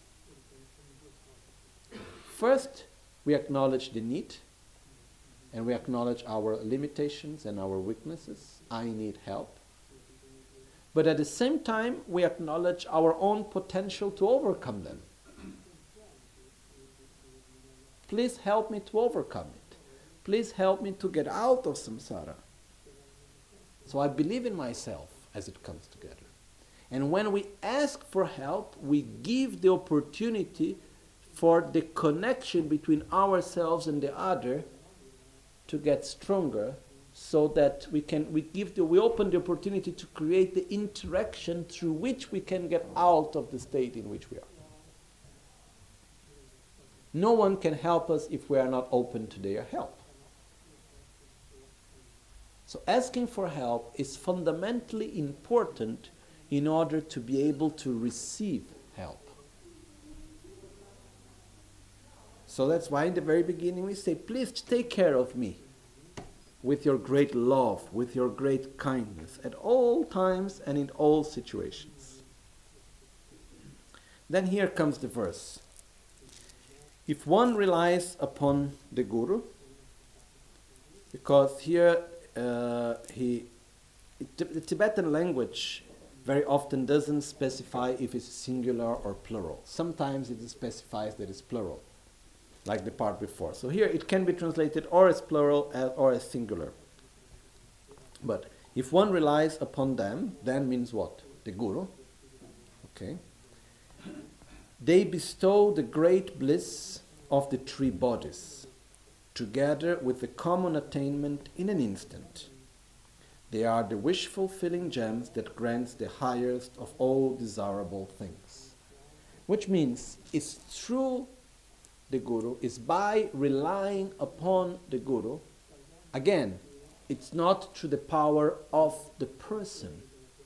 First, we acknowledge the need, and we acknowledge our limitations and our weaknesses. I need help. But at the same time, we acknowledge our own potential to overcome them. Please help me to overcome it. please help me to get out of samsara. So I believe in myself as it comes together. And when we ask for help, we give the opportunity for the connection between ourselves and the other to get stronger, so that we open the opportunity to create the interaction through which we can get out of the state in which we are. No one can help us if we are not open to their help. So asking for help is fundamentally important in order to be able to receive help. So that's why in the very beginning we say, please take care of me with your great love, with your great kindness, at all times and in all situations. Then here comes the verse. If one relies upon the Guru, because here the Tibetan language very often doesn't specify if it's singular or plural. Sometimes it specifies that it's plural, like the part before. So here it can be translated or as plural or as singular. But if one relies upon them, then means what? The Guru. Okay. They bestow the great bliss of the three bodies, together with the common attainment in an instant. They are the wish-fulfilling gems that grants the highest of all desirable things. Which means it's through the Guru, is by relying upon the Guru. Again, it's not through the power of the person.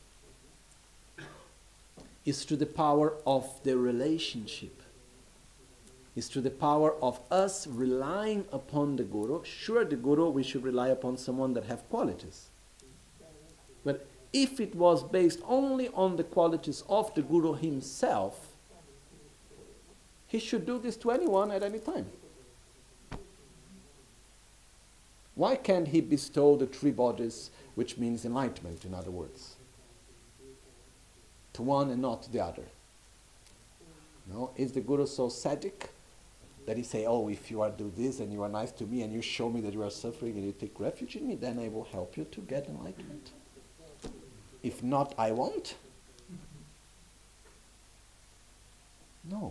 It's through the power of the relationship. It's through the power of us relying upon the Guru. Sure, the Guru, we should rely upon someone that have qualities. But if it was based only on the qualities of the Guru himself, he should do this to anyone at any time. Why can't he bestow the three bodies, which means enlightenment, in other words, to one and not to the other? No, is the Guru so sadic that he say, oh, if you are do this and you are nice to me and you show me that you are suffering and you take refuge in me, then I will help you to get enlightenment. If not, I won't. No.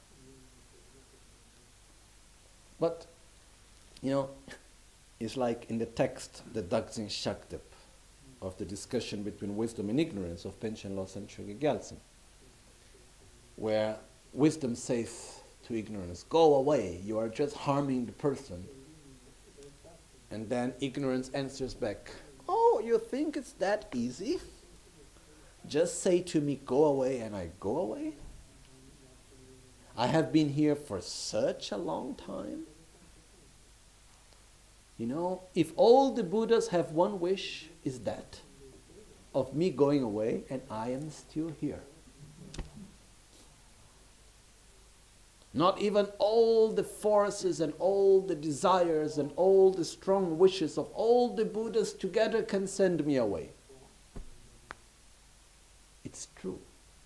But, you know, it's like in the text, the Daksin Shaktap, of the discussion between wisdom and ignorance of Panchen Losang Chogyal Gyaltsab, where wisdom says to ignorance, go away, you are just harming the person. And then ignorance answers back, oh, you think it's that easy? Just say to me, go away, and I go away? I have been here for such a long time. You know, if all the Buddhas have one wish, is that of me going away and I am still here. Not even all the forces and all the desires and all the strong wishes of all the Buddhas together can send me away. It's true.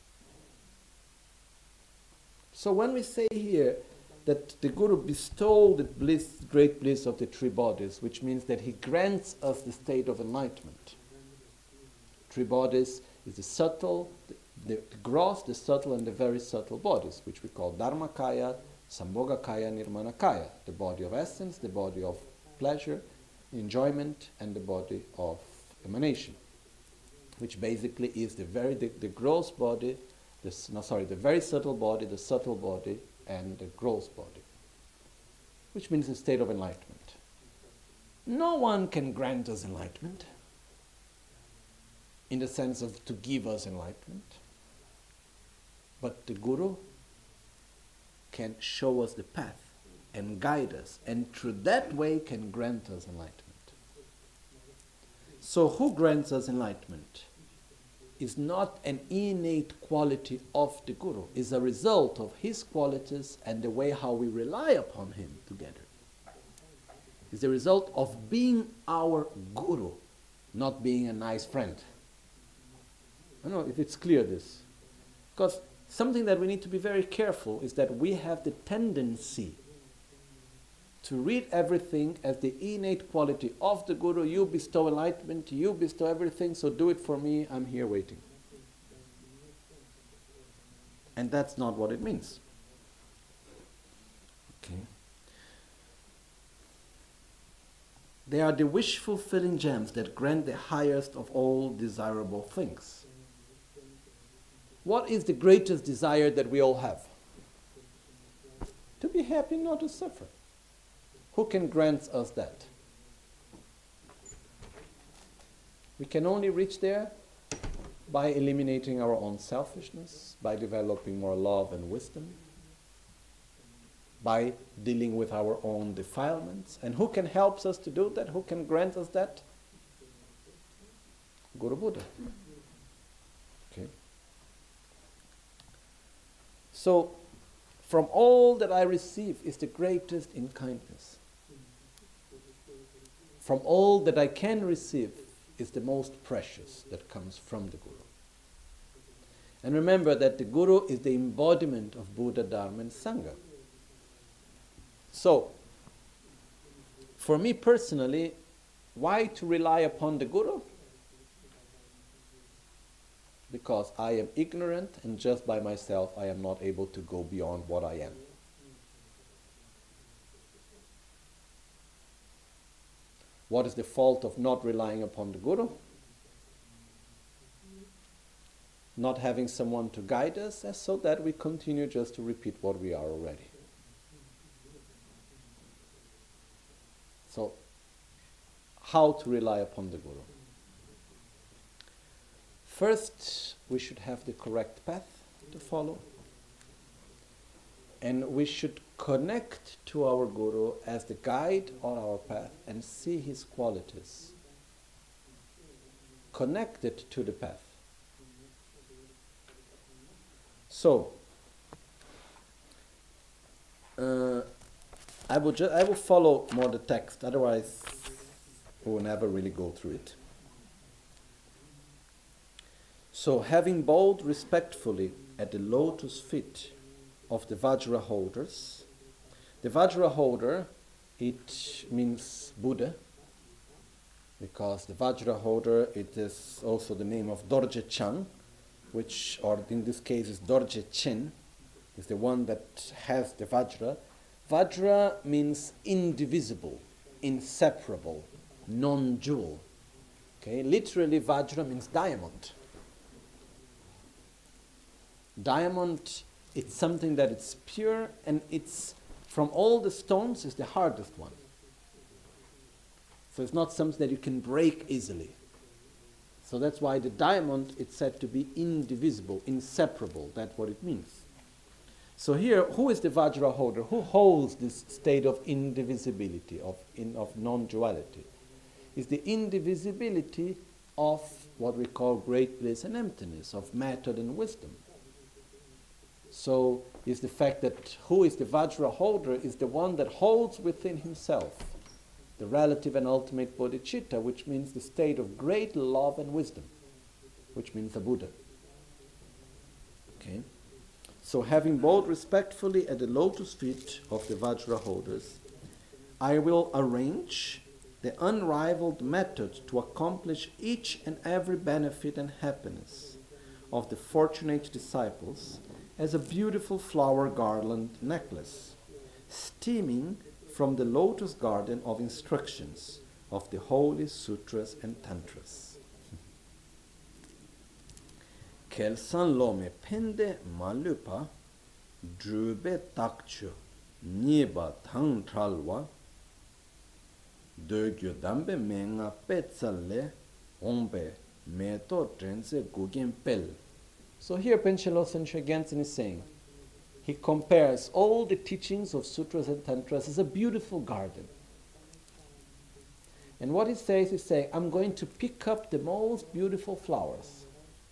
So when we say here that the Guru bestowed the bliss, great bliss of the three bodies, which means that he grants us the state of enlightenment. Three bodies is the subtle, the gross, the subtle, and the very subtle bodies, which we call Dharmakaya, Sambhogakaya, Nirmanakaya, the body of essence, the body of pleasure, enjoyment, and the body of emanation, which basically is the gross body, the very subtle body, the subtle body, and the gross body, which means a state of enlightenment. No one can grant us enlightenment in the sense of to give us enlightenment, but the Guru can show us the path and guide us, and through that way can grant us enlightenment. So who grants us enlightenment is not an innate quality of the Guru, is a result of his qualities and the way how we rely upon him together. It's the result of being our Guru, not being a nice friend. I don't know if it's clear this. Because something that we need to be very careful is that we have the tendency to read everything as the innate quality of the Guru. You bestow enlightenment, you bestow everything, so do it for me, I'm here waiting. And that's not what it means. Okay. They are the wish-fulfilling gems that grant the highest of all desirable things. What is the greatest desire that we all have? To be happy, not to suffer. Who can grant us that? We can only reach there by eliminating our own selfishness, by developing more love and wisdom, by dealing with our own defilements. And who can help us to do that? Who can grant us that? Guru Buddha. Okay. So, from all that I receive is the greatest in kindness. From all that I can receive is the most precious that comes from the Guru. And remember that the Guru is the embodiment of Buddha, Dharma and Sangha. So, for me personally, why to rely upon the Guru? Because I am ignorant and just by myself I am not able to go beyond what I am. What is the fault of not relying upon the Guru? Not having someone to guide us, and so that we continue just to repeat what we are already. So, how to rely upon the Guru? First, we should have the correct path to follow. And we should connect to our Guru as the guide on our path and see his qualities connected to the path. So, I will follow more the text, otherwise we will never really go through it. So, having bowed respectfully at the lotus feet of the Vajra holders, the Vajra holder, it means Buddha, because the Vajra holder, it is also the name of Dorje Chang, which, or in this case is Dorje Chen, is the one that has the Vajra. Vajra means indivisible, inseparable, non-dual. Okay, literally Vajra means diamond. Diamond, it's something that it's pure and it's, from all the stones, is the hardest one. So it's not something that you can break easily. So that's why the diamond, it's said to be indivisible, inseparable. That's what it means. So here, who is the Vajra holder? Who holds this state of indivisibility, of non-duality? It's the indivisibility of what we call great bliss and emptiness, of matter and wisdom. So it's the fact that who is the Vajra holder is the one that holds within himself the relative and ultimate bodhicitta, which means the state of great love and wisdom, which means the Buddha. Okay? So having bowed respectfully at the lotus feet of the Vajra holders, I will arrange the unrivaled method to accomplish each and every benefit and happiness of the fortunate disciples as a beautiful flower garland necklace, steaming from the lotus garden of instructions of the holy sutras and tantras. Kelsan lome pende malupa drube takchu niba thang tralwa dögyo dambe menga petsalle ombe meto trense gugen pel. So here Panchen Losang Gyaltsen is saying, he compares all the teachings of sutras and tantras as a beautiful garden. And what he says is saying, I'm going to pick up the most beautiful flowers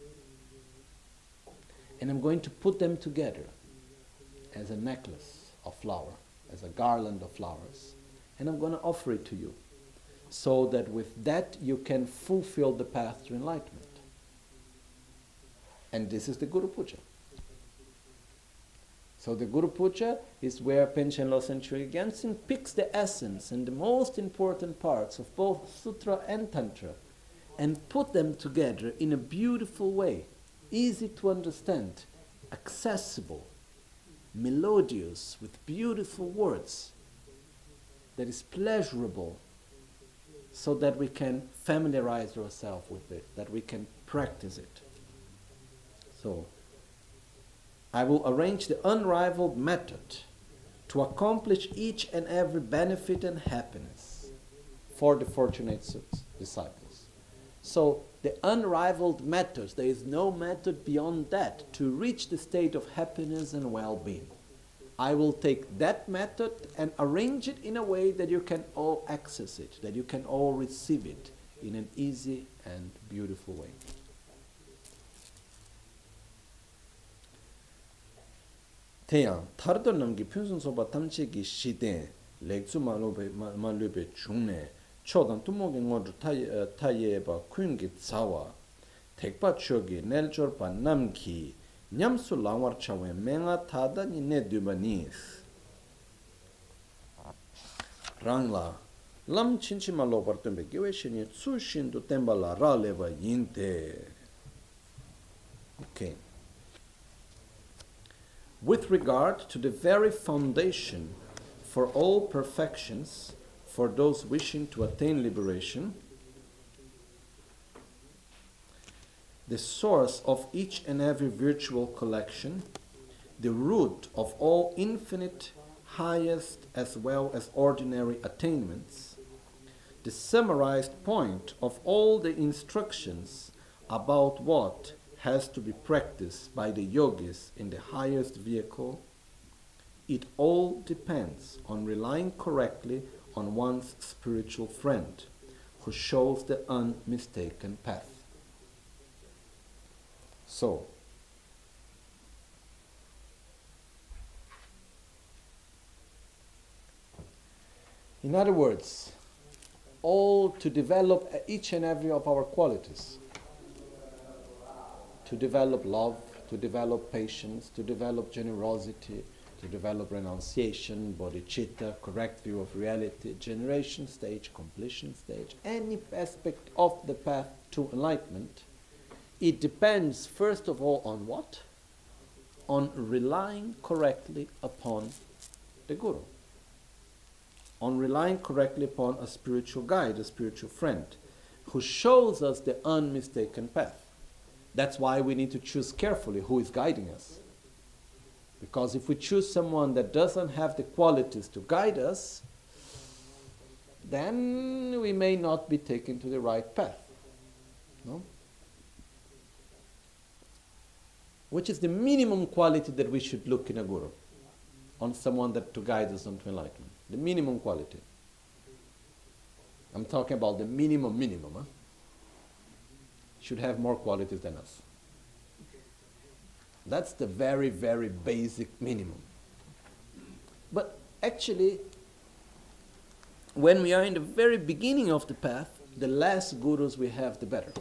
and I'm going to put them together as a necklace of flower, as a garland of flowers, and I'm going to offer it to you so that with that you can fulfill the path to enlightenment. And this is the Guru Puja. So the Guru Puja is where Panchen Losang Chögyal Gyaltsen picks the essence and the most important parts of both Sutra and Tantra and put them together in a beautiful way, easy to understand, accessible, melodious, with beautiful words, that is pleasurable, so that we can familiarize ourselves with it, that we can practice it. So, I will arrange the unrivaled method to accomplish each and every benefit and happiness for the fortunate disciples. So, the unrivaled methods, there is no method beyond that to reach the state of happiness and well-being. I will take that method and arrange it in a way that you can all access it, that you can all receive it in an easy and beautiful way. 태양 타르도 남기 푼순소바 탐치기 시대 렉주 말루베 중내 초단 투목의 모두 타예바 퀸기 자와 택바 추기 넬절바 남기 냠수 라와르차웨 맹아 타다니 네드바니스 랑라 람 친치말로 버튼베 기웨시니 추신도 템발라 라레바 인테. Okay. With regard to the very foundation for all perfections, for those wishing to attain liberation, the source of each and every virtual collection, the root of all infinite, highest as well as ordinary attainments, the summarized point of all the instructions about what has to be practiced by the yogis in the highest vehicle, it all depends on relying correctly on one's spiritual friend, who shows the unmistaken path. So, in other words, all to develop each and every of our qualities, to develop love, to develop patience, to develop generosity, to develop renunciation, bodhicitta, correct view of reality, generation stage, completion stage, any aspect of the path to enlightenment, it depends first of all on what? On relying correctly upon the Guru. On relying correctly upon a spiritual guide, a spiritual friend, who shows us the unmistaken path. That's why we need to choose carefully who is guiding us. Because if we choose someone that doesn't have the qualities to guide us, then we may not be taken to the right path. No? Which is the minimum quality that we should look in a guru, on someone that to guide us onto enlightenment. The minimum quality. I'm talking about the minimum. Huh? Should have more qualities than us. That's the very, very basic minimum. But actually, when we are in the very beginning of the path, the less gurus we have, the better.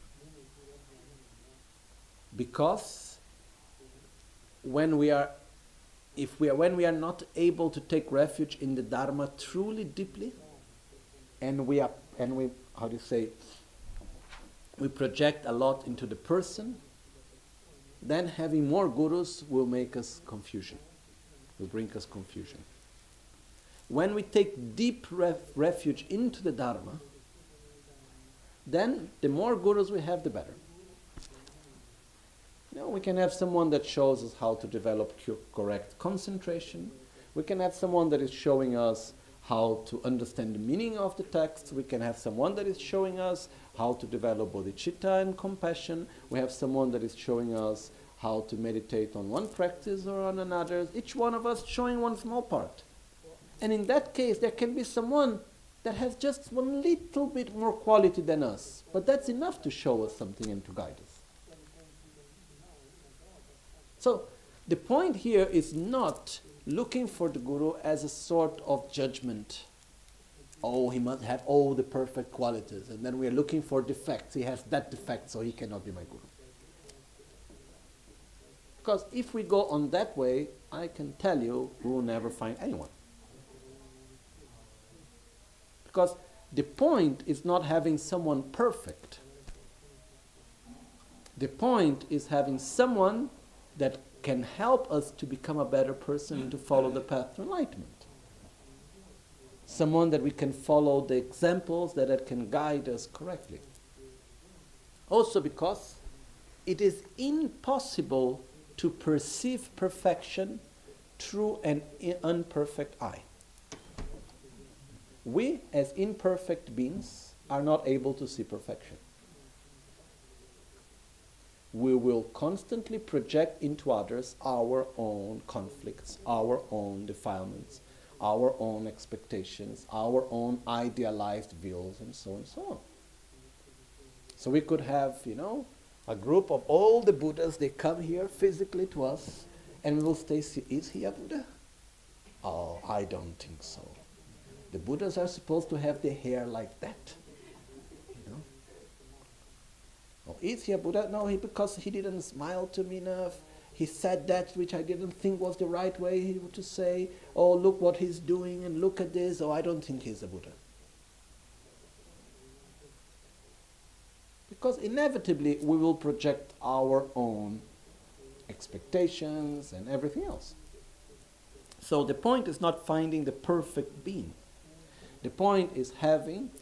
Because when we are not able to take refuge in the Dharma truly deeply, and we project a lot into the person, then having more gurus will make us confusion, will bring us confusion. When we take deep refuge into the Dharma, then the more gurus we have, the better. You know, we can have someone that shows us how to develop correct concentration. We can have someone that is showing us how to understand the meaning of the text. We can have someone that is showing us how to develop bodhicitta and compassion. We have someone that is showing us how to meditate on one practice or on another. Each one of us showing one small part. And in that case, there can be someone that has just one little bit more quality than us. But that's enough to show us something and to guide us. So the point here is not looking for the Guru as a sort of judgment. Oh, he must have all the perfect qualities. And then we are looking for defects. He has that defect, so he cannot be my Guru. Because if we go on that way, I can tell you we will never find anyone. Because the point is not having someone perfect. The point is having someone that can help us to become a better person and to follow the path to enlightenment. Someone that we can follow the examples that can guide us correctly. Also because it is impossible to perceive perfection through an imperfect eye. We, as imperfect beings, are not able to see perfection. We will constantly project into others our own conflicts, our own defilements, our own expectations, our own idealized views, and so on and so on. So we could have, a group of all the Buddhas, they come here physically to us, and we will say, is he a Buddha? Oh, I don't think so. The Buddhas are supposed to have their hair like that. Oh, is he a Buddha? No, because he didn't smile to me enough. He said that which I didn't think was the right way to say. Oh, look what he's doing and look at this. Oh, I don't think he's a Buddha. Because inevitably we will project our own expectations and everything else. So the point is not finding the perfect being. The point is having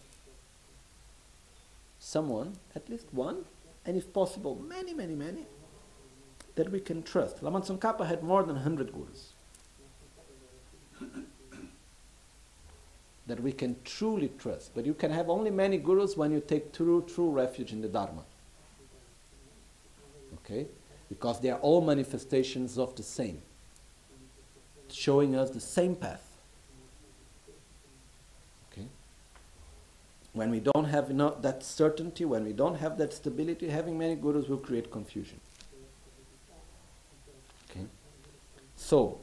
someone, at least one, and if possible, many, many, many, that we can trust. Lama Tsongkhapa had more than 100 gurus that we can truly trust. But you can have only many gurus when you take true refuge in the Dharma. Okay? Because they are all manifestations of the same, showing us the same path. When we don't have that certainty, when we don't have that stability, having many gurus will create confusion. Okay? So,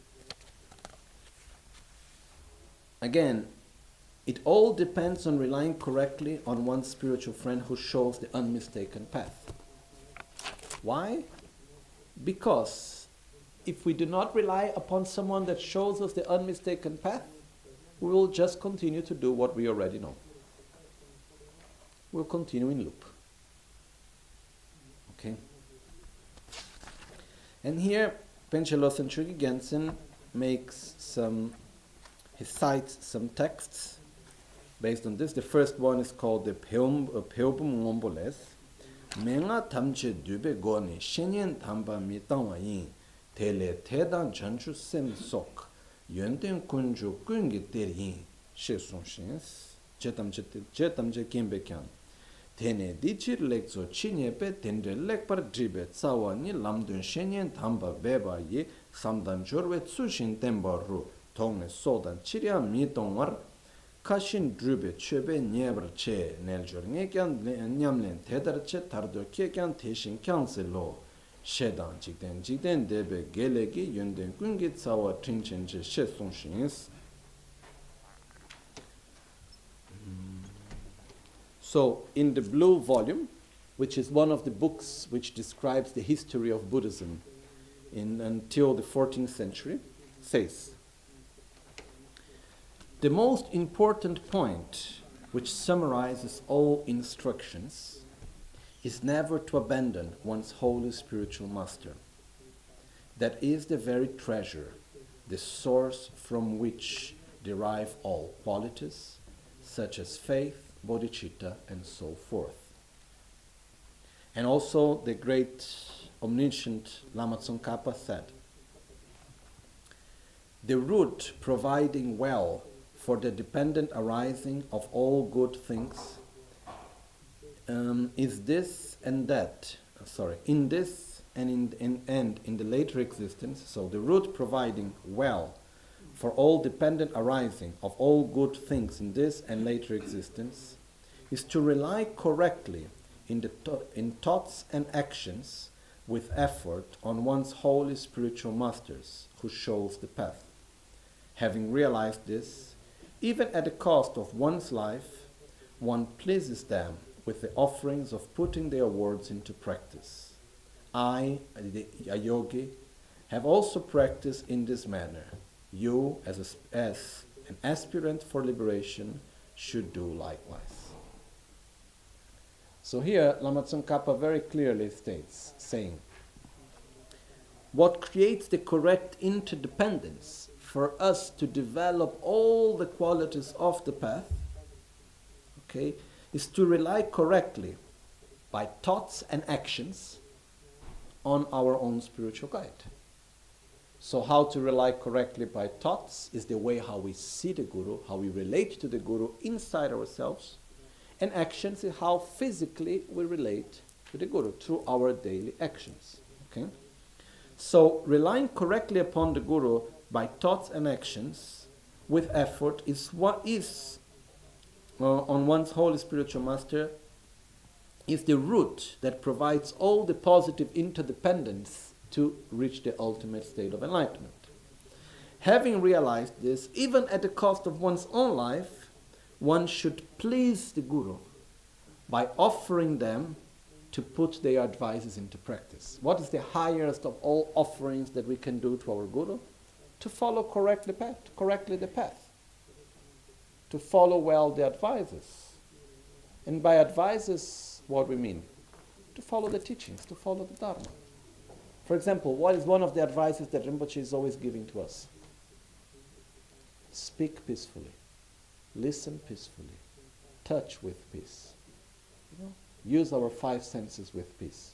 again, it all depends on relying correctly on one's spiritual friend who shows the unmistaken path. Why? Because if we do not rely upon someone that shows us the unmistaken path, we will just continue to do what we already know. We'll continue in loop. Okay? And here, Panchen Losang Chökyi Gyaltsen he cites some texts based on this. The first one is called the Peobum Ngomboles. Menga tamche dube goni shenyen tamba mi tangwa yin tele tedan chanchu sem sok yönden kunju kungi ter yin she son shens chetamche kimbe kyan tene dichir lekzo chinyepe tendre lekpar dribe tsawa ni lamdun shenyen tamba beba yi samdan jorwe tsushin temba ru tongne sodan chirya mi tongwar kashin drube chöbe nyebar che neljor ngekyan nyamlen tedar che tardo kekyan teshin kyanse lo shedan jikden debe gelegi yönden kungi tsawa trinchenche she sonshins. So, in the blue volume, which is one of the books which describes the history of Buddhism until the 14th century, says, the most important point which summarizes all instructions is never to abandon one's holy spiritual master. That is the very treasure, the source from which derive all qualities, such as faith, bodhicitta, and so forth. And also the great omniscient Lama Tsongkhapa said, the root providing well for the dependent arising of all good things is this and that, in this and in the later existence. So the root providing well for all dependent arising of all good things in this and later existence is to rely correctly in thoughts and actions with effort on one's holy spiritual masters who shows the path. Having realized this, even at the cost of one's life, one pleases them with the offerings of putting their words into practice. I, a yogi, have also practiced in this manner. You, as an aspirant for liberation, should do likewise. So here, Lama Tsongkhapa very clearly states, saying, what creates the correct interdependence for us to develop all the qualities of the path, okay, is to rely correctly by thoughts and actions on our own spiritual guide. So how to rely correctly by thoughts is the way how we see the Guru, how we relate to the Guru inside ourselves, and actions is how physically we relate to the Guru through our daily actions. Okay? So relying correctly upon the Guru by thoughts and actions with effort is what is on one's holy spiritual master is the root that provides all the positive interdependence to reach the ultimate state of enlightenment. Having realized this, even at the cost of one's own life, one should please the Guru by offering them to put their advices into practice. What is the highest of all offerings that we can do to our Guru? To follow correctly the path. To follow well the advices. And by advices, what we mean? To follow the teachings, to follow the Dharma. For example, what is one of the advices that Rinpoche is always giving to us? Speak peacefully. Listen peacefully. Touch with peace. You know? Use our five senses with peace.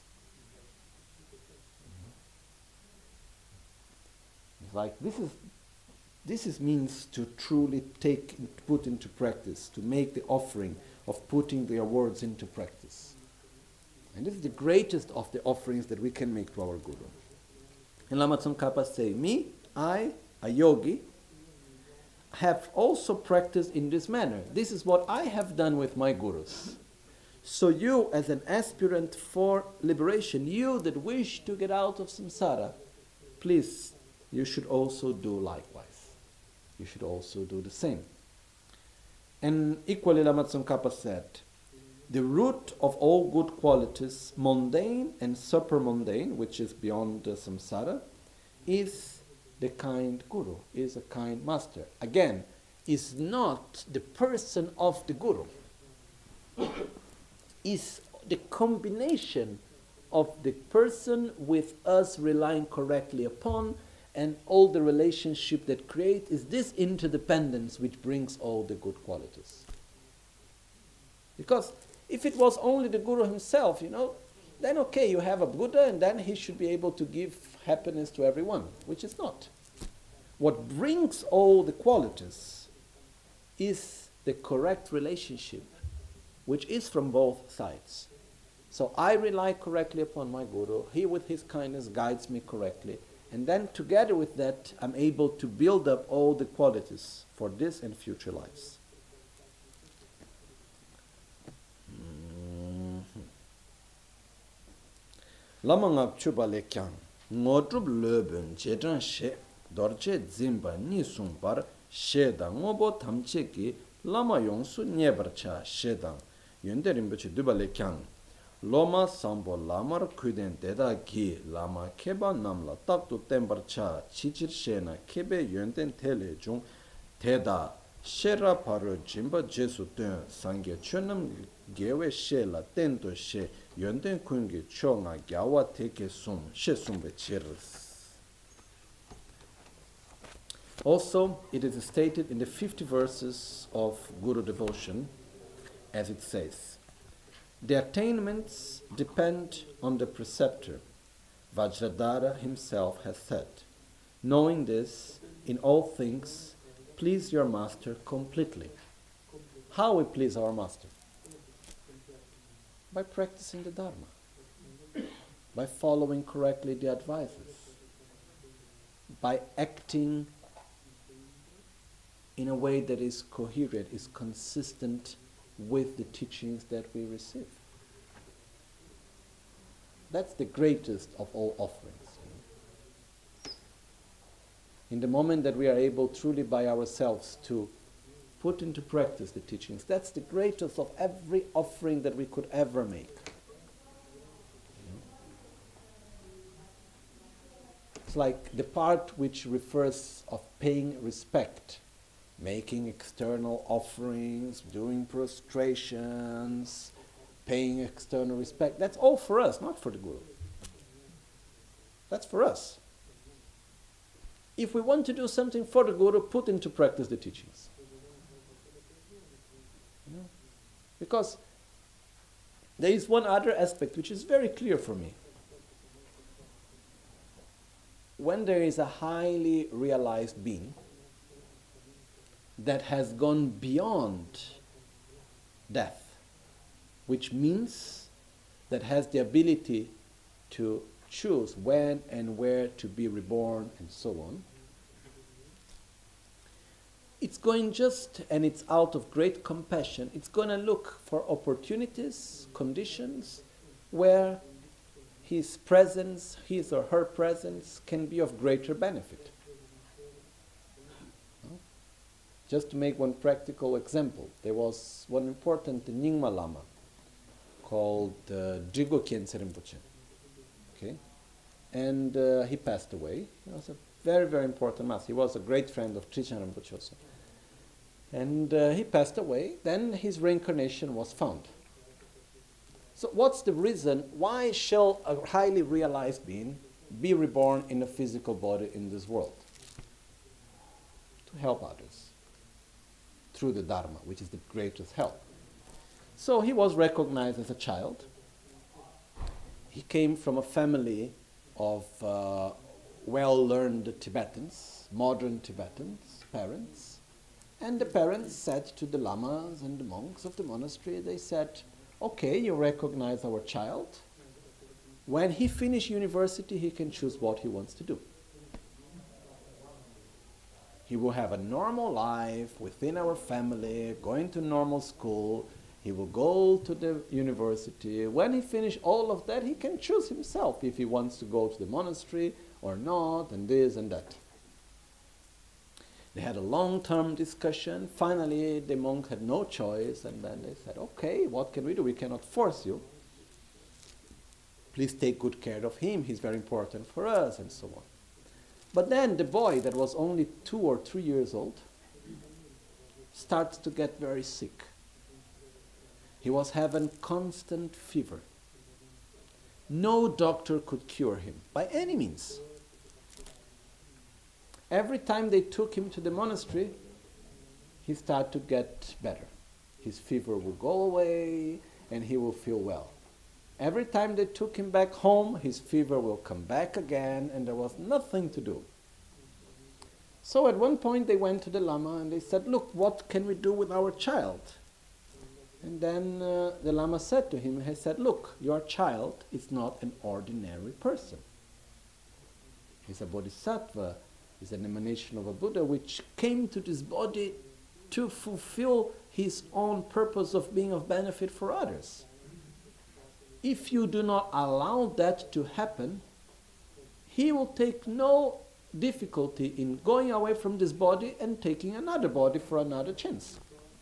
It's like this means to truly put into practice, to make the offering of putting their words into practice. And this is the greatest of the offerings that we can make to our Guru. And Lama Tsongkhapa say, me, I, a yogi, have also practiced in this manner. This is what I have done with my Gurus. So you, as an aspirant for liberation, you that wish to get out of samsara, please, you should also do likewise. You should also do the same. And equally, Lama Tsongkhapa said, the root of all good qualities, mundane and super-mundane, which is beyond the samsara, is the kind Guru, is a kind master. Again, is not the person of the Guru. Is the combination of the person with us relying correctly upon, and all the relationship that create is this interdependence which brings all the good qualities. Because if it was only the Guru himself, then okay, you have a Buddha and then he should be able to give happiness to everyone, which is not. What brings all the qualities is the correct relationship, which is from both sides. So I rely correctly upon my Guru, he with his kindness guides me correctly, and then together with that I'm able to build up all the qualities for this and future lives. Lama ngab chuba le kyang, ngodrub lebun jedran she, dorje zimba ni sumbar, sheda ngobo tamche ki, lama yongsu nyebar cha shedang, yonde rinpoche duba le kyang, loma sambo lamar kuden deda ki, lama keba namla taktu tembar cha, chichir shena kebe yonden tele jung, teda, shera paru jimba jesu tuen, sangye chunam gewe she la tento she, yonden kungi chonga gyawa teke sum, she sumbe chiris. Also, it is stated in the 50 verses of Guru devotion, as it says, the attainments depend on the preceptor. Vajradhara himself has said, knowing this, in all things, please your master completely. How we please our master? By practicing the Dharma, by following correctly the advices, by acting in a way that is coherent, is consistent with the teachings that we receive. That's the greatest of all offerings. In the moment that we are able truly by ourselves to put into practice the teachings, that's the greatest of every offering that we could ever make. It's like the part which refers of paying respect, making external offerings, doing prostrations, paying external respect. That's all for us, not for the Guru. That's for us. If we want to do something for the Guru, put into practice the teachings. You know? Because there is one other aspect which is very clear for me. When there is a highly realized being that has gone beyond death, which means that has the ability to choose when and where to be reborn and so on, it's going and it's out of great compassion, it's going to look for opportunities, conditions where his presence, his or her presence, can be of greater benefit. Just to make one practical example, there was one important Nyingma Lama called Drigo Khyentse Rinpoche. Okay? And he passed away. He was a very, very important master. He was a great friend of Trijang Rinpoche also. And he passed away. Then his reincarnation was found. So what's the reason? Why shall a highly realized being be reborn in a physical body in this world? To help others through the Dharma, which is the greatest help. So he was recognized as a child. He came from a family of well-learned Tibetans, modern Tibetans, parents. And the parents said to the lamas and the monks of the monastery, they said, okay, you recognize our child. When he finishes university, he can choose what he wants to do. He will have a normal life within our family, going to normal school. He will go to the university. When he finishes all of that, he can choose himself if he wants to go to the monastery or not, and this and that. They had a long-term discussion. Finally, the monk had no choice, and then they said, okay, what can we do? We cannot force you. Please take good care of him. He's very important for us, and so on. But then the boy that was only 2 or 3 years old starts to get very sick. He was having constant fever. No doctor could cure him by any means. Every time they took him to the monastery, he started to get better. His fever will go away and he will feel well. Every time they took him back home, his fever will come back again, and there was nothing to do. So at one point they went to the Lama and they said, look, what can we do with our child? And then the Lama said to him, he said, look, your child is not an ordinary person. He's a bodhisattva. He's an emanation of a Buddha which came to this body to fulfill his own purpose of being of benefit for others. If you do not allow that to happen, he will take no difficulty in going away from this body and taking another body for another chance.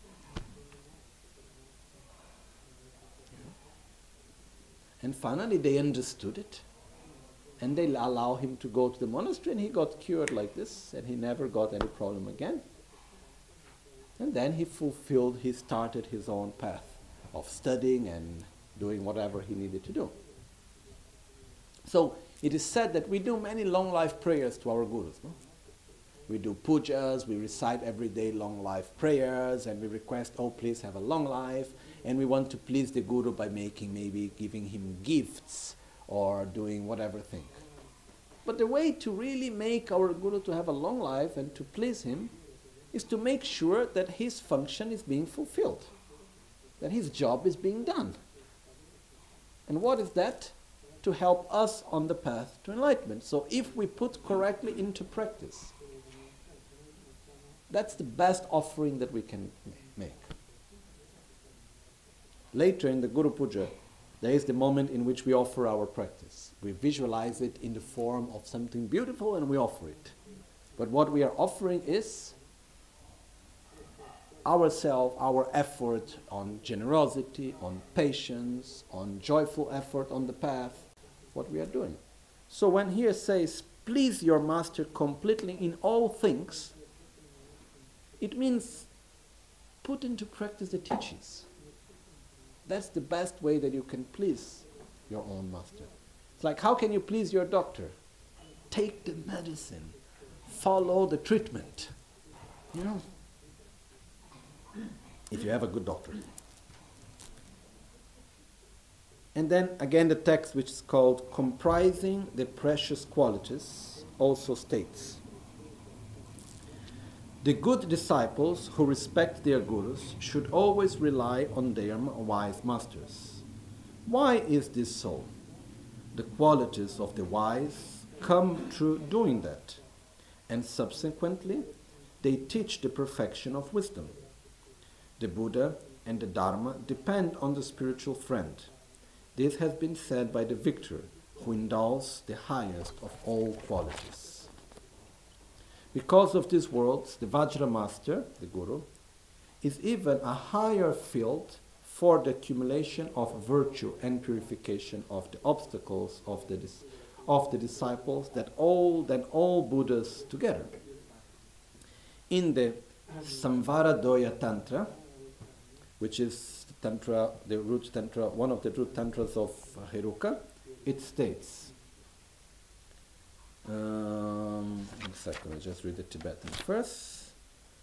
And finally they understood it. And they allow him to go to the monastery, and he got cured like this, and he never got any problem again. And then he started his own path of studying and doing whatever he needed to do. So it is said that we do many long life prayers to our gurus. No? We do pujas, we recite every day long life prayers, and we request, oh please have a long life, and we want to please the guru by maybe giving him gifts, or doing whatever thing. But the way to really make our Guru to have a long life and to please him is to make sure that his function is being fulfilled, that his job is being done. And what is that? To help us on the path to enlightenment. So if we put correctly into practice, that's the best offering that we can make. Later in the Guru Puja, there is the moment in which we offer our practice. We visualize it in the form of something beautiful and we offer it. But what we are offering is ourselves, our effort on generosity, on patience, on joyful effort on the path, what we are doing. So when here says please your master completely in all things, it means put into practice the teachings. That's the best way that you can please your own master. It's like, how can you please your doctor? Take the medicine. Follow the treatment. You know? If you have a good doctor. And then again the text, which is called Comprising the Precious Qualities, also states, the good disciples who respect their gurus should always rely on their wise masters. Why is this so? The qualities of the wise come through doing that, and subsequently they teach the perfection of wisdom. The Buddha and the Dharma depend on the spiritual friend. This has been said by the victor, who indulges the highest of all qualities. Because of these words, the Vajra master, the Guru, is even a higher field for the accumulation of virtue and purification of the obstacles of the disciples than all Buddhas together. In the Samvaradoya Tantra, which is Tantra, the root tantra, one of the root tantras of Heruka, it states, one second, I'll just read the Tibetan first.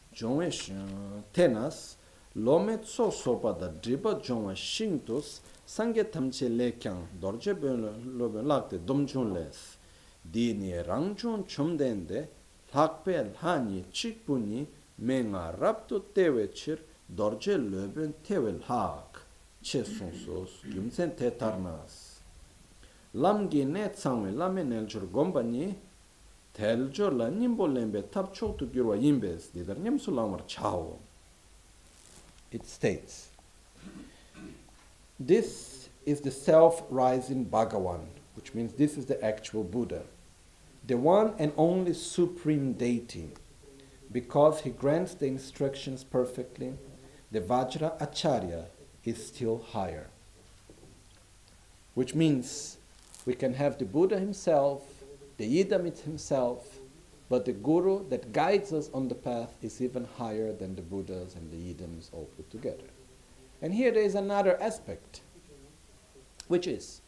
Tenas, lome tso sopa da driba jongwa shingtus, sange tamche lekyang, dorje lobe lakte domchun les, dini rangchun chumdende, lakpe lhani chikpuni, menga raptu tewe chir, dorje löben tewel hak che sonsos gyumsen te tarnas lamgi ne tsangwe lame neljur gombani teljur la nimbo lembe tap choktu gyurwa yimbes didar nyamsu lamar chao. It states, this is the self-rising Bhagavan, which means this is the actual Buddha, the one and only supreme deity. Because he grants the instructions perfectly, the Vajra Acharya is still higher. Which means we can have the Buddha himself, the Idamit himself, but the Guru that guides us on the path is even higher than the Buddhas and the Idams all put together. And here there is another aspect, which is,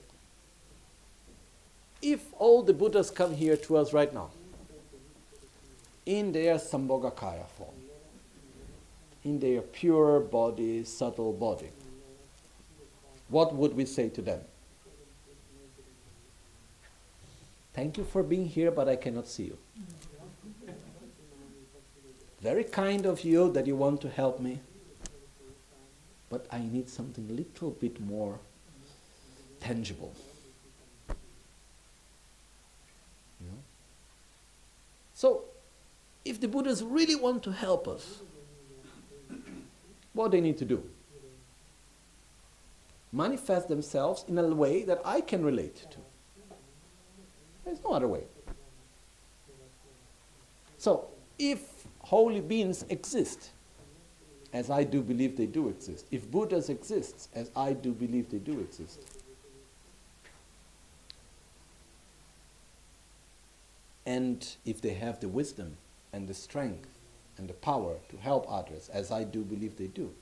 if all the Buddhas come here to us right now, in their Sambhogakaya form, in their pure body, subtle body, what would we say to them? Thank you for being here, but I cannot see you. Very kind of you that you want to help me, but I need something a little bit more tangible. You know? So, if the Buddhas really want to help us, what they need to do? Manifest themselves in a way that I can relate to. There's no other way. So, if holy beings exist, as I do believe they do exist, if Buddhas exist, as I do believe they do exist, and if they have the wisdom and the strength and the power to help others, as I do believe they do,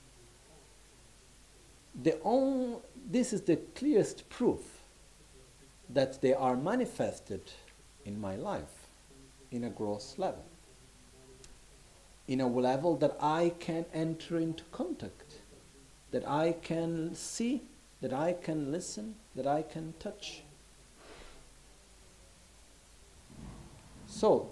this is the clearest proof that they are manifested in my life in a gross level, in a level that I can enter into contact, that I can see, that I can listen, that I can touch. So,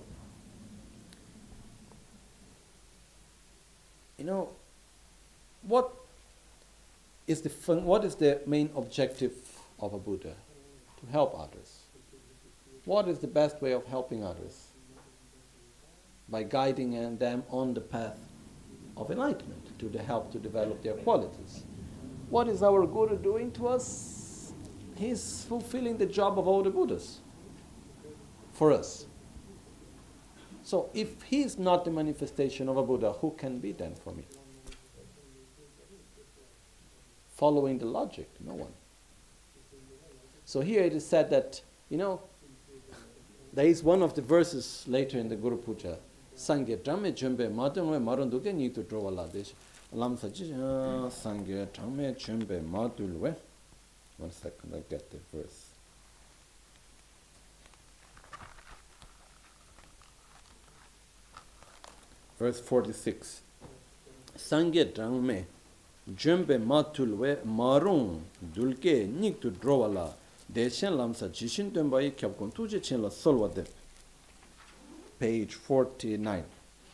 you know, what is the main objective of a Buddha? To help others. What is the best way of helping others? By guiding them on the path of enlightenment, to help to develop their qualities. What is our Guru doing to us? He's fulfilling the job of all the Buddhas for us. So if he's not the manifestation of a Buddha, who can be then for me? Following the logic, no one. So here it is said that, you know, There is one of the verses later in the Guru Puja. Sangye Dhamme Chumbe Matunwe Marunduke need to draw a lot. Lam Saji Sangye Dhamme Chumbe Matulwe. 1 second, I get the verse. Verse 46. Sangye Dhamme Chumbe Matulwe Marun Dulke need to draw a lot. Deshen Lamsa Jishin Tembai Kyabkon Tuje Chen La Solwade. Page 49.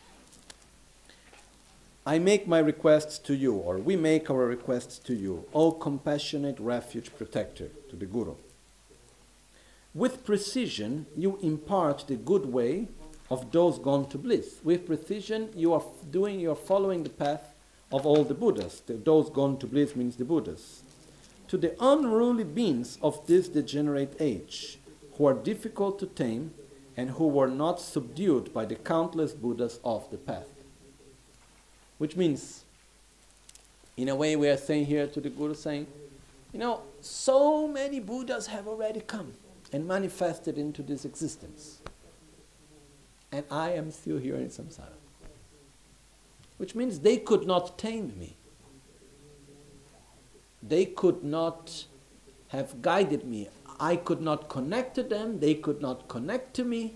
I make my requests to you, or we make our requests to you, O compassionate refuge protector, to the Guru. With precision, you impart the good way of those gone to bliss. With precision, you are following the path of all the Buddhas. Those gone to bliss means the Buddhas. To the unruly beings of this degenerate age, who are difficult to tame and who were not subdued by the countless Buddhas of the path. Which means, in a way we are saying here to the Guru, saying, so many Buddhas have already come and manifested into this existence. And I am still here in samsara. Which means they could not tame me. They could not have guided me. I could not connect to them. They could not connect to me.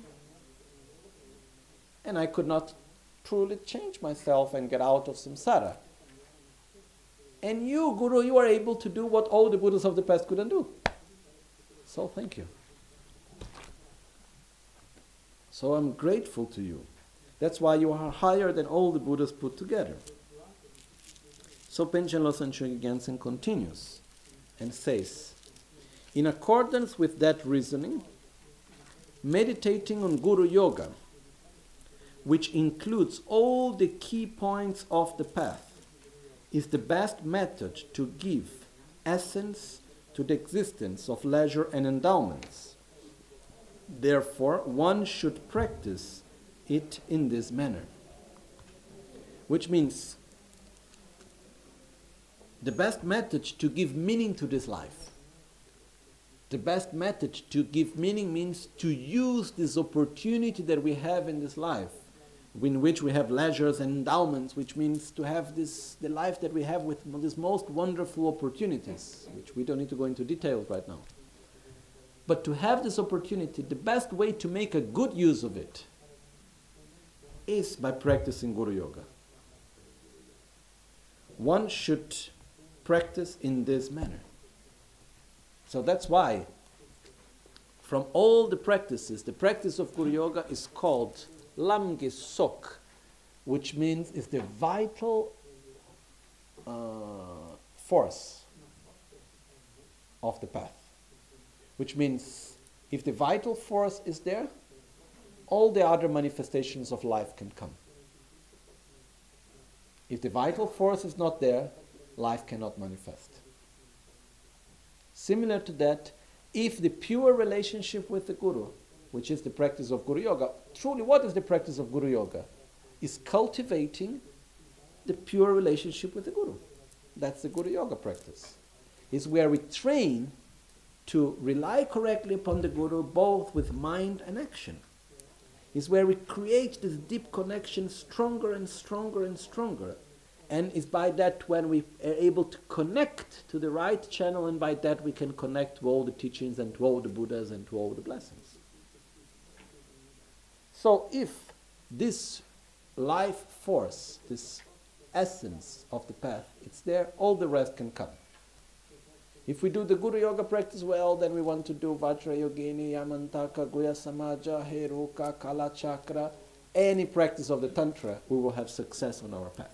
And I could not truly change myself and get out of samsara. And you, Guru, you are able to do what all the Buddhas of the past couldn't do. So thank you. So I'm grateful to you. That's why you are higher than all the Buddhas put together. So Panchen Losang Chögyam Gyaltsen continues and says, in accordance with that reasoning, meditating on Guru Yoga, which includes all the key points of the path, is the best method to give essence to the existence of leisure and endowments. Therefore, one should practice it in this manner. Which means, the best method to give meaning to this life. The best method to give meaning means to use this opportunity that we have in this life, in which we have leisures and endowments, which means to have the life that we have with these most wonderful opportunities, which we don't need to go into details right now. But to have this opportunity, the best way to make a good use of it is by practicing Guru Yoga. One should practice in this manner. So that's why, from all the practices, the practice of Guru Yoga is called Lamge Sok, which means it's the vital force of the path. Which means, if the vital force is there, all the other manifestations of life can come. If the vital force is not there, life cannot manifest. Similar to that, if the pure relationship with the Guru, which is the practice of Guru Yoga, truly what is the practice of Guru Yoga? Is cultivating the pure relationship with the Guru. That's the Guru Yoga practice. It's where we train to rely correctly upon the Guru both with mind and action. It's where we create this deep connection stronger and stronger and stronger. And it's by that when we are able to connect to the right channel, and by that we can connect to all the teachings and to all the Buddhas and to all the blessings. So if this life force, this essence of the path, it's there, all the rest can come. If we do the Guru Yoga practice well, then we want to do Vajra Yogini, Yamantaka, Guya Samaja, Heruka, Kala Chakra, any practice of the Tantra, we will have success on our path.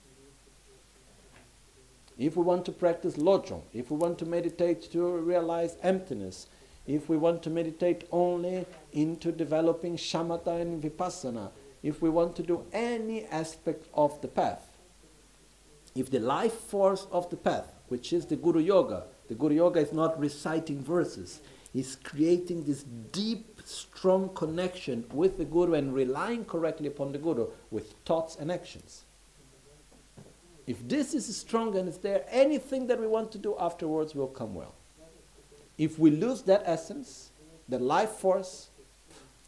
If we want to practice Lojong, if we want to meditate to realize emptiness, if we want to meditate only into developing Shamatha and Vipassana, if we want to do any aspect of the path, if the life force of the path, which is the Guru Yoga is not reciting verses, it's creating this deep, strong connection with the Guru and relying correctly upon the Guru with thoughts and actions. If this is strong and it's there, anything that we want to do afterwards will come well. If we lose that essence, the life force,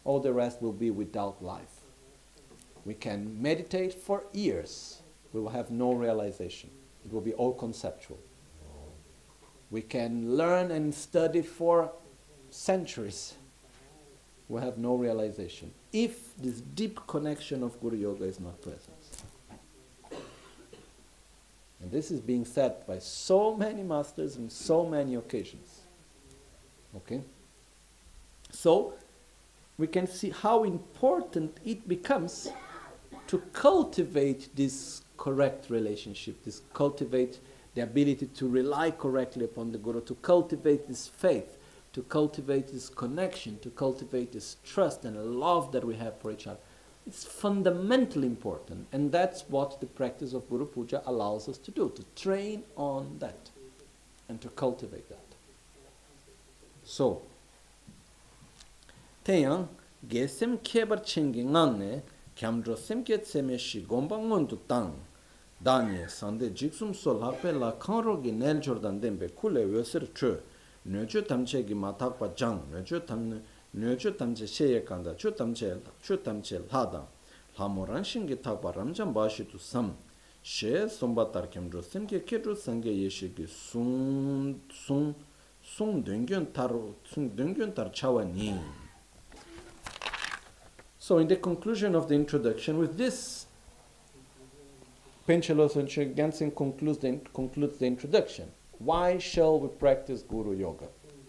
all the rest will be without life. We can meditate for years. We will have no realization. It will be all conceptual. We can learn and study for centuries. We'll have no realization if this deep connection of Guru Yoga is not present. And this is being said by so many masters in so many occasions. Okay? So, we can see how important it becomes to cultivate this correct relationship, cultivate the ability to rely correctly upon the Guru, to cultivate this faith, to cultivate this connection, to cultivate this trust and love that we have for each other. It's fundamentally important, and that's what the practice of Guru Puja allows us to do, to train on that and to cultivate that. So, Teyang gesem kebar chengi nganne kyamdro semke tsemeshi gombangon tu tang danye sande jiksum sol hakpe la kanro gi nel jordan dembe kule wöser chö nöjö tamche gi matakpa jang nöjö tamche sheye kanda chö tamche lhada lamoran shingi takpa ramjan bashi tu sam she sombatar kyamdro semke kedro sange yeshi gi sung döngön tar chawa ni. So in the conclusion of the introduction, with this, Panchen Losang Gyaltsen concludes the introduction. Why shall we practice Guru Yoga?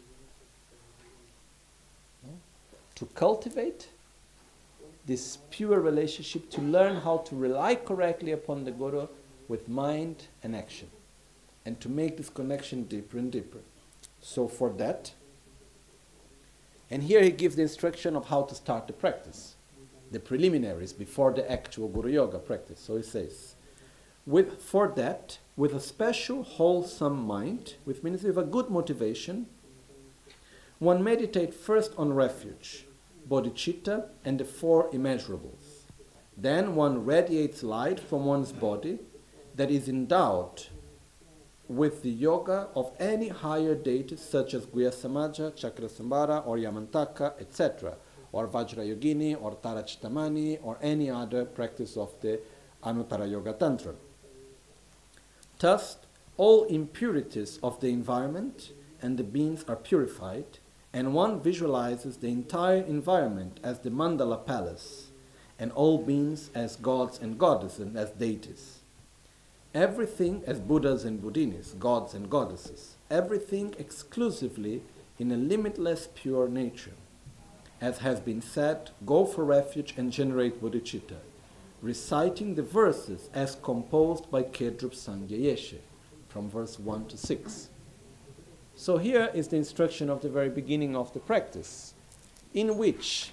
To cultivate this pure relationship, to learn how to rely correctly upon the Guru with mind and action, and to make this connection deeper and deeper. So for that, and here he gives the instruction of how to start the practice, the preliminaries before the actual Guru Yoga practice. So he says, for that, with a special wholesome mind, which means with a good motivation, one meditate first on refuge, bodhicitta, and the four immeasurables. Then one radiates light from one's body that is endowed with the yoga of any higher deities such as Guhya Samaja, Chakrasambhara, or Yamantaka, etc., or Vajrayogini, or Tarachittamani, or any other practice of the Anuttara Yoga Tantra. Thus, all impurities of the environment and the beings are purified, and one visualizes the entire environment as the Mandala Palace, and all beings as gods and goddesses and as deities. Everything as Buddhas and Buddhinis, gods and goddesses. Everything exclusively in a limitless pure nature. As has been said, go for refuge and generate bodhicitta, reciting the verses as composed by Kedrup Sangye Yeshe, from verse 1 to 6. So here is the instruction of the very beginning of the practice, in which,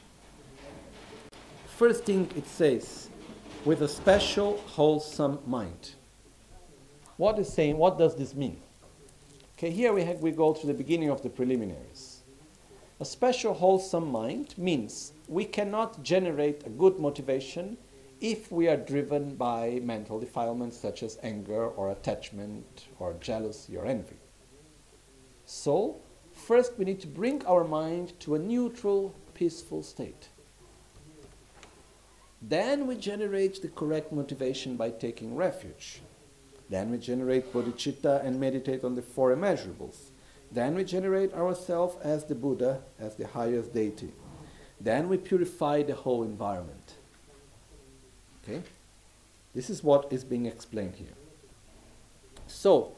first thing it says, with a special wholesome mind. What is saying? What does this mean? Okay, here we go to the beginning of the preliminaries. A special wholesome mind means we cannot generate a good motivation if we are driven by mental defilements such as anger or attachment or jealousy or envy. So, first we need to bring our mind to a neutral, peaceful state. Then we generate the correct motivation by taking refuge. Then we generate bodhicitta and meditate on the four immeasurables. Then we generate ourselves as the Buddha, as the highest deity. Then we purify the whole environment. Okay? This is what is being explained here. So,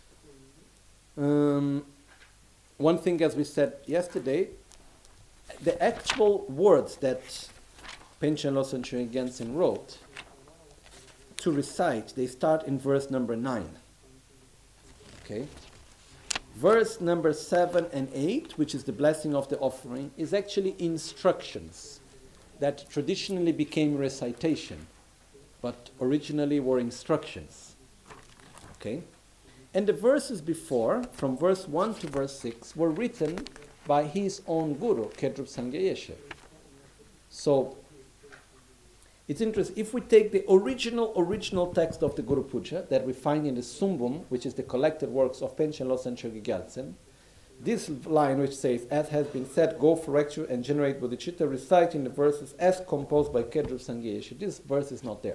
one thing, as we said yesterday, the actual words that Panchen Losang Gyaltsen wrote to recite, they start in verse number 9. Okay? Verse number 7 and 8, which is the blessing of the offering, is actually instructions that traditionally became recitation, but originally were instructions. Okay? And the verses before, from verse 1 to verse 6, were written by his own guru, Kedrup Sangye Yeshe. So, it's interesting, if we take the original text of the Guru Puja that we find in the Sumbum, which is the collected works of Panchen Losang Gyaltsen, this line which says, as has been said, go for refuge and generate bodhicitta, reciting the verses as composed by Kedrup Sangye Yeshe. This verse is not there.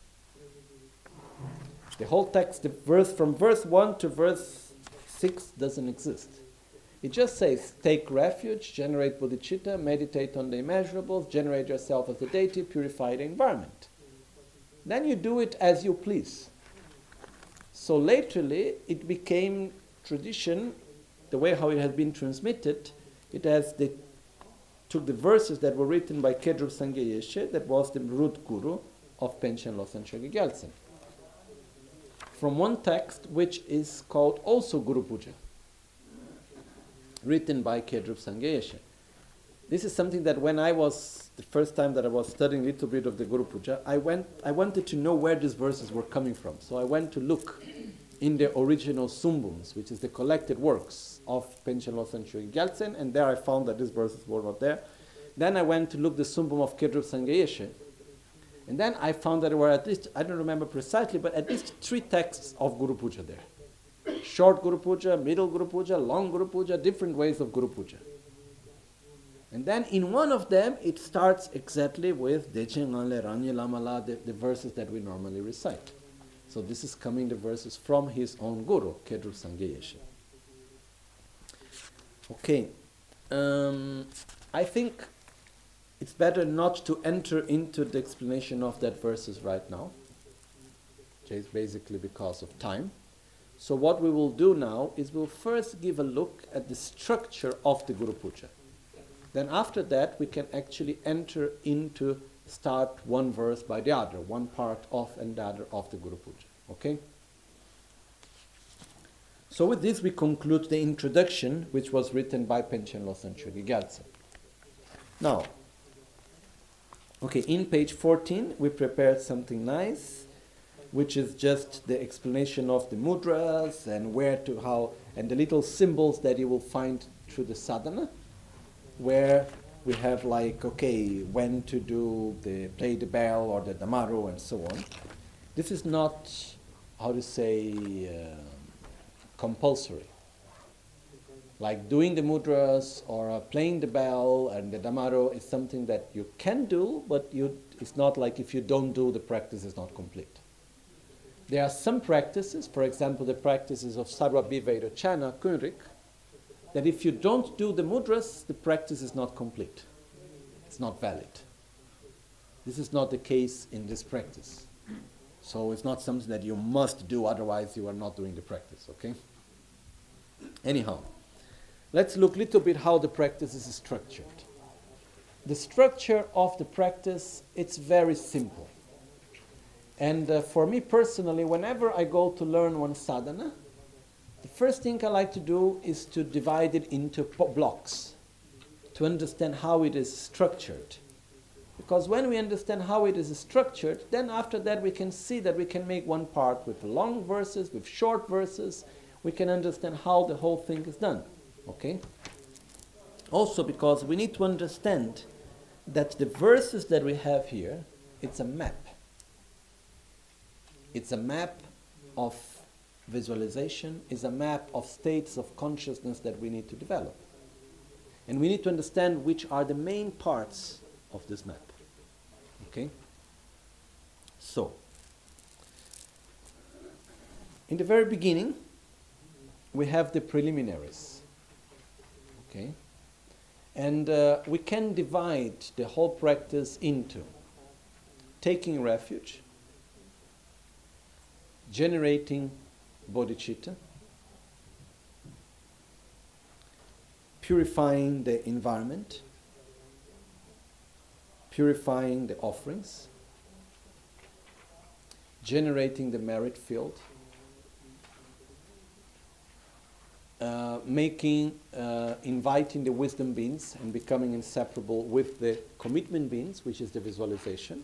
The whole text, the verse from verse 1 to verse 6 doesn't exist. It just says, take refuge, generate bodhicitta, meditate on the immeasurables, generate yourself as the deity, purify the environment. Then you do it as you please. So latterly, it became tradition, the way how it has been transmitted, took the verses that were written by Kedrup Sangye Yeshe, that was the root guru of Panchen Losang Chogyal Gyaltsen, from one text which is called also Guru Puja, written by Kedrup Sangye Yeshe. This is something that when I was, the first time that I was studying a little bit of the Guru Puja, I wanted to know where these verses were coming from. So I went to look in the original Sumbums, which is the collected works of Panchen Losang Chogyal Gyaltsen, and there I found that these verses were not there. Then I went to look the Sumbum of Kedrup Sangye Yeshe, and then I found that there were at least, I don't remember precisely, but at least 3 texts of Guru Puja there. Short Guru Puja, middle Guru Puja, long Guru Puja, different ways of Guru Puja. And then in one of them, it starts exactly with Dechen Anle Ranye Lamala, the verses that we normally recite. So this is coming the verses from his own Guru, Kedrup Sangye Yeshe. Okay. I think it's better not to enter into the explanation of that verses right now, just basically because of time. So what we will do now is we'll first give a look at the structure of the Guru Puja. Then after that, we can actually enter into start one verse by the other, one part of and the other of the Guru Puja. Okay? So with this, we conclude the introduction, which was written by Panchen Losang Chogyal Gyaltsen. Now, okay, in page 14, we prepared something nice, which is just the explanation of the mudras and where to, how, and the little symbols that you will find through the sadhana, where we have like, okay, when to do play the bell or the damaru and so on. This is not, how to say, compulsory. Like doing the mudras or playing the bell and the damaru is something that you can do, but it's not like if you don't do, the practice is not complete. There are some practices, for example, the practices of Sarva Bhivedo Chana, Kunrik, that if you don't do the mudras, the practice is not complete. It's not valid. This is not the case in this practice. So it's not something that you must do, otherwise you are not doing the practice, okay? Anyhow, let's look a little bit how the practice is structured. The structure of the practice, it's very simple. And for me personally, whenever I go to learn one sadhana, the first thing I like to do is to divide it into blocks, to understand how it is structured. Because when we understand how it is structured, then after that we can see that we can make one part with long verses, with short verses. We can understand how the whole thing is done. Okay? Also because we need to understand that the verses that we have here, it's a map. It's a map of visualization, is a map of states of consciousness that we need to develop. And we need to understand which are the main parts of this map. Okay? So, in the very beginning, we have the preliminaries. Okay? And we can divide the whole practice into taking refuge, generating bodhicitta, purifying the environment, purifying the offerings, generating the merit field, inviting the wisdom beings and becoming inseparable with the commitment beings, which is the visualization.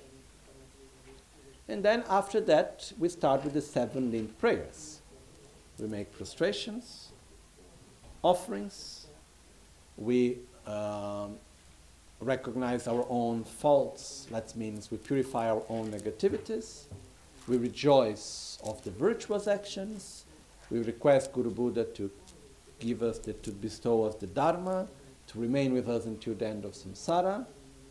And then after that, we start with the 7 linked prayers. We make prostrations, offerings, we recognize our own faults, that means we purify our own negativities, we rejoice of the virtuous actions, we request Guru Buddha to give us, to bestow us the Dharma, to remain with us until the end of samsara.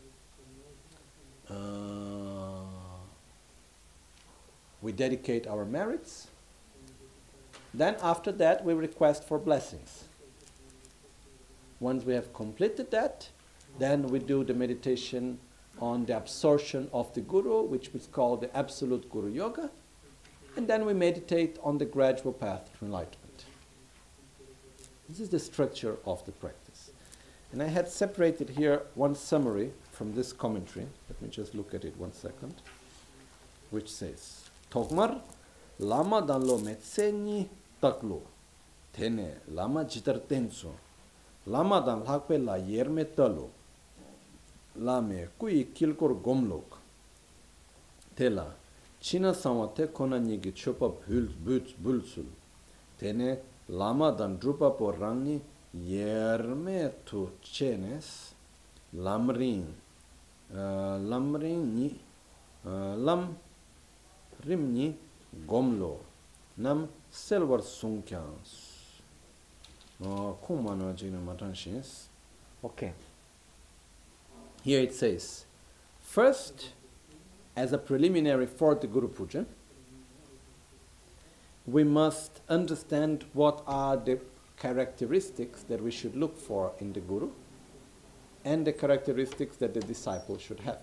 We dedicate our merits. Then after that we request for blessings. Once we have completed that, then we do the meditation on the absorption of the Guru, which is called the Absolute Guru Yoga, and then we meditate on the gradual path to enlightenment. This is the structure of the practice. And I had separated here one summary from this commentary. Let me just look at it 1 second. Which says, Tokmar lama danlo metseni taklo, tene lama jitar tenso, lama dan lakpe la yerme talo, lame kui kilkor gomlok, tela china samate kona nigi chopa bulsul, tene lama dan drupa por rangi yerme tu chenes, lamrin ni lam rimni gomlo nam silver sunkyans. Kumana jina matanshins. Okay. Here it says, first, as a preliminary for the Guru Puja, we must understand what are the characteristics that we should look for in the Guru and the characteristics that the disciple should have.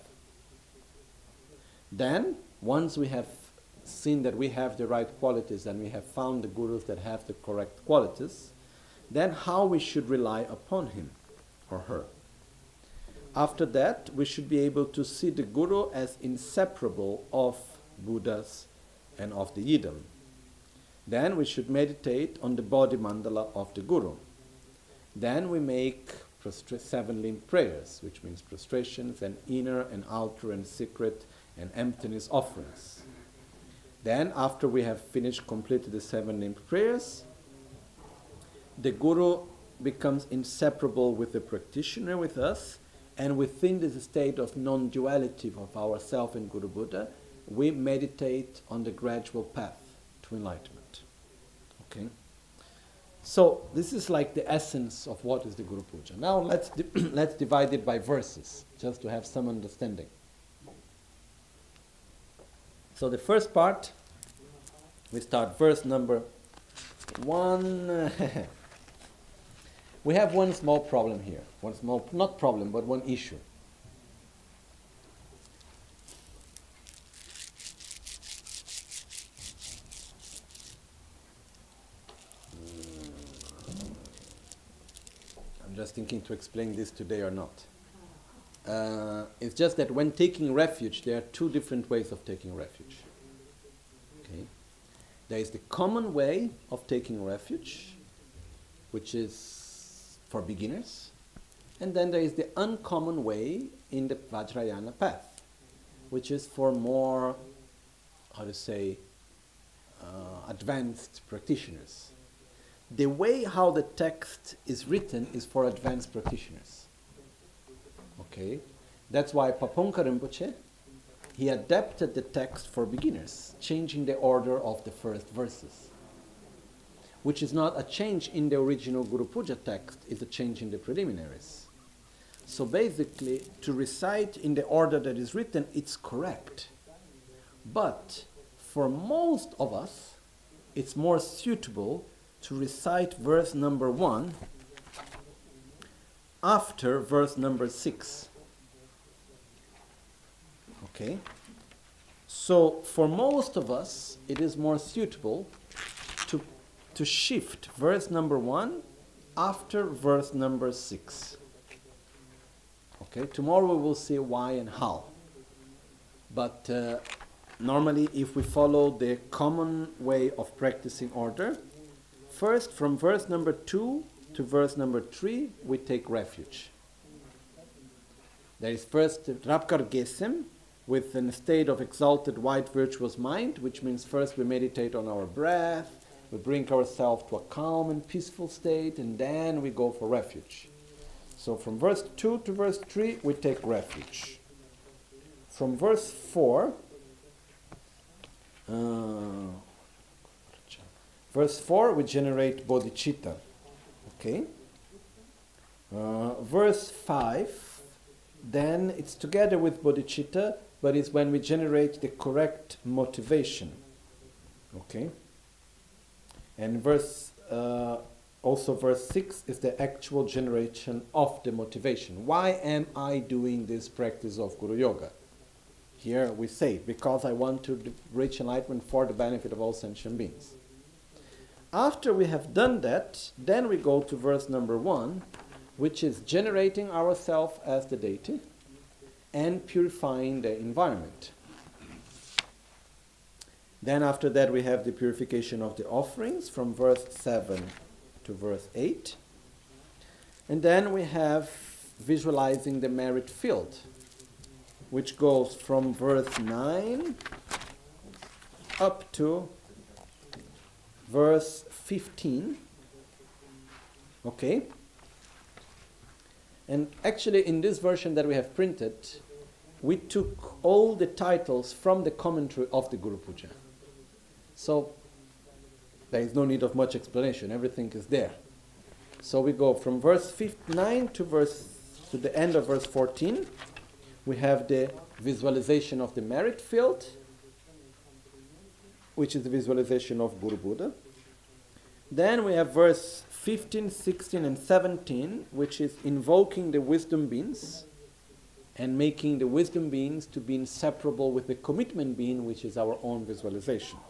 Then, once we have seen that we have the right qualities and we have found the Gurus that have the correct qualities, then how we should rely upon him or her. After that, we should be able to see the Guru as inseparable of Buddhas and of the Yidam. Then we should meditate on the body mandala of the Guru. Then we make 7-limb prayers, which means prostrations and inner and outer and secret and emptiness offerings. Then, after we have completed the 7-limb prayers, the Guru becomes inseparable with the practitioner, with us, and within this state of non-duality of ourself and Guru Buddha, we meditate on the gradual path to enlightenment. Okay? So, this is like the essence of what is the Guru Puja. Now, let's divide it by verses, just to have some understanding. So, the first part, we start verse number 1. We have one small problem here. One small, not problem, but one issue. I'm just thinking to explain this today or not. It's just that when taking refuge, there are two different ways of taking refuge. Okay? There is the common way of taking refuge, which is for beginners, and then there is the uncommon way in the Vajrayana path, which is for more, advanced practitioners. The way how the text is written is for advanced practitioners. Okay, that's why Paponka Rinpoche, he adapted the text for beginners, changing the order of the first verses, which is not a change in the original Guru Puja text, it's a change in the preliminaries. So basically, to recite in the order that is written, it's correct. But for most of us, it's more suitable to recite verse number 1 after verse number 6. Okay? So for most of us, it is more suitable to shift verse number 1 after verse number 6. Okay, tomorrow we will see why and how. But normally, if we follow the common way of practicing order, first from verse number 2 to verse number 3, we take refuge. There is first Rapkar Gesem, with a state of exalted white virtuous mind, which means first we meditate on our breath, we bring ourselves to a calm and peaceful state, and then we go for refuge. So from verse 2 to verse 3, we take refuge. From verse 4, we generate bodhicitta, Okay. Verse 5, then it's together with bodhicitta, but it's when we generate the correct motivation. Okay. And also verse 6 is the actual generation of the motivation. Why am I doing this practice of Guru Yoga? Here we say, because I want to reach enlightenment for the benefit of all sentient beings. After we have done that, then we go to verse number 1, which is generating ourselves as the deity and purifying the environment. Then after that we have the purification of the offerings from verse 7 to verse 8. And then we have visualizing the merit field, which goes from verse 9 up to verse 15. Okay? And actually in this version that we have printed, we took all the titles from the commentary of the Guru Puja. So there is no need of much explanation, everything is there. So we go from verse 9 to the end of verse 14. We have the visualization of the merit field, which is the visualization of Guru Buddha. Then we have verse 15, 16 and 17, which is invoking the wisdom beings and making the wisdom beings to be inseparable with the commitment being, which is our own visualization.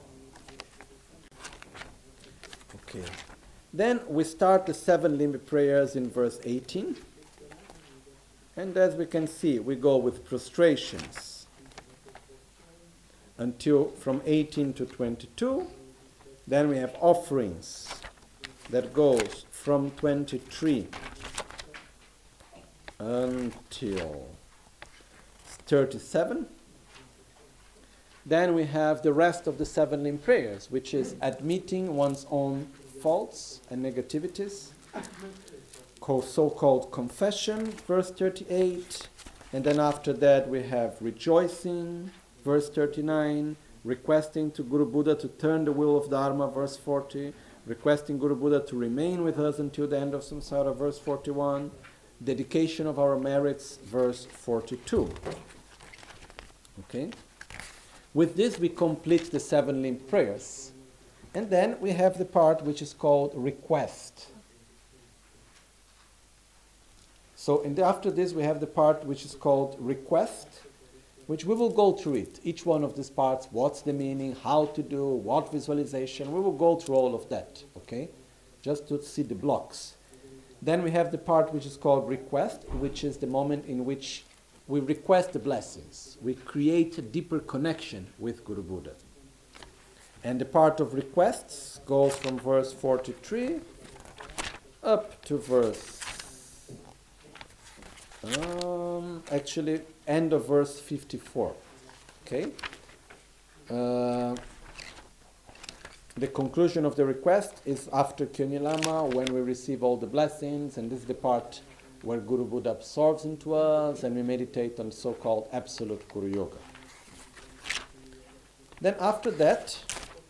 Okay. Then we start the 7 limb prayers in verse 18. And as we can see, we go with prostrations until from 18 to 22. Then we have offerings that goes from 23 until 37. Then we have the rest of the 7 limb prayers, which is admitting one's own faults and negativities, so-called confession, verse 38. And then after that we have rejoicing, verse 39, requesting to Guru Buddha to turn the wheel of Dharma, verse 40, requesting Guru Buddha to remain with us until the end of samsara, verse 41, dedication of our merits, verse 42. Okay? With this we complete the 7 limb prayers. And then we have the part which is called request. So after this we have the part which is called request, which we will go through it. Each one of these parts, what's the meaning, how to do, what visualization, we will go through all of that, okay? Just to see the blocks. Then we have the part which is called request, which is the moment in which we request the blessings. We create a deeper connection with Guru Buddha. And the part of requests goes from verse 43 up to verse, actually end of verse 54. Okay? The conclusion of the request is after Kyoni Lama, when we receive all the blessings, and this is the part where Guru Buddha absorbs into us, and we meditate on so-called absolute Guru Yoga. Then after that,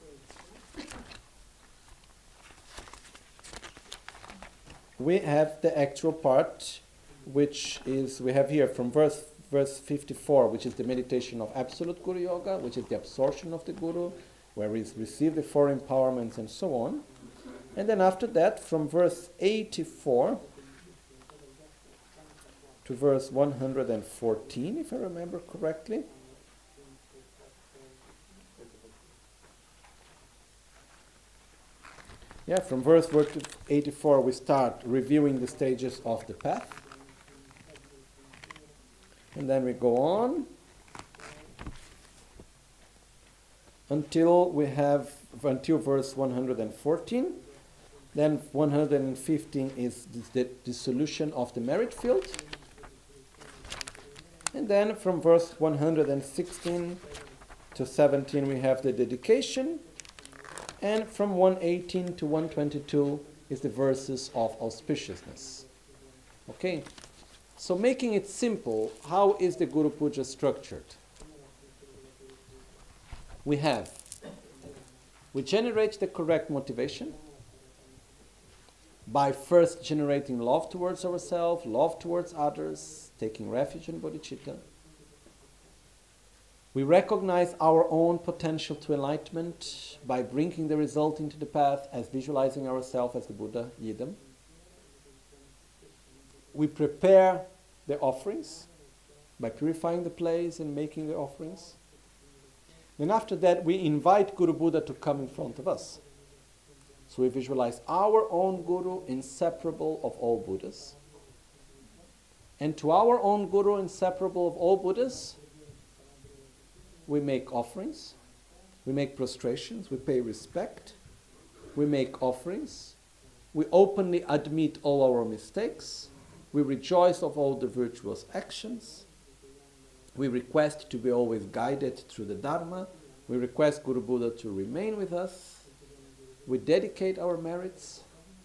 we have the actual part, which is, we have here from verse 54, which is the meditation of absolute Guru Yoga, which is the absorption of the Guru, where we receive the 4 empowerments and so on. And then after that, from verse 84 to verse 114, if I remember correctly. Yeah, from verse 84 we start reviewing the stages of the path. And then we go on until verse 114. Then 115 is the dissolution of the merit field. And then from verse 116 to 17 we have the dedication. And from 118 to 122 is the verses of auspiciousness. Okay? So making it simple, how is the Guru Puja structured? We generate the correct motivation. by first generating love towards ourselves, love towards others, taking refuge in bodhicitta. We recognize our own potential to enlightenment by bringing the result into the path as visualizing ourselves as the Buddha Yidam. We prepare the offerings by purifying the place and making the offerings. Then after that, we invite Guru Buddha to come in front of us. So we visualize our own Guru, inseparable of all Buddhas. And to our own Guru, inseparable of all Buddhas, we make offerings, we make prostrations, we pay respect, we make offerings, we openly admit all our mistakes, we rejoice of all the virtuous actions, we request to be always guided through the Dharma, we request Guru Buddha to remain with us, we dedicate our merits,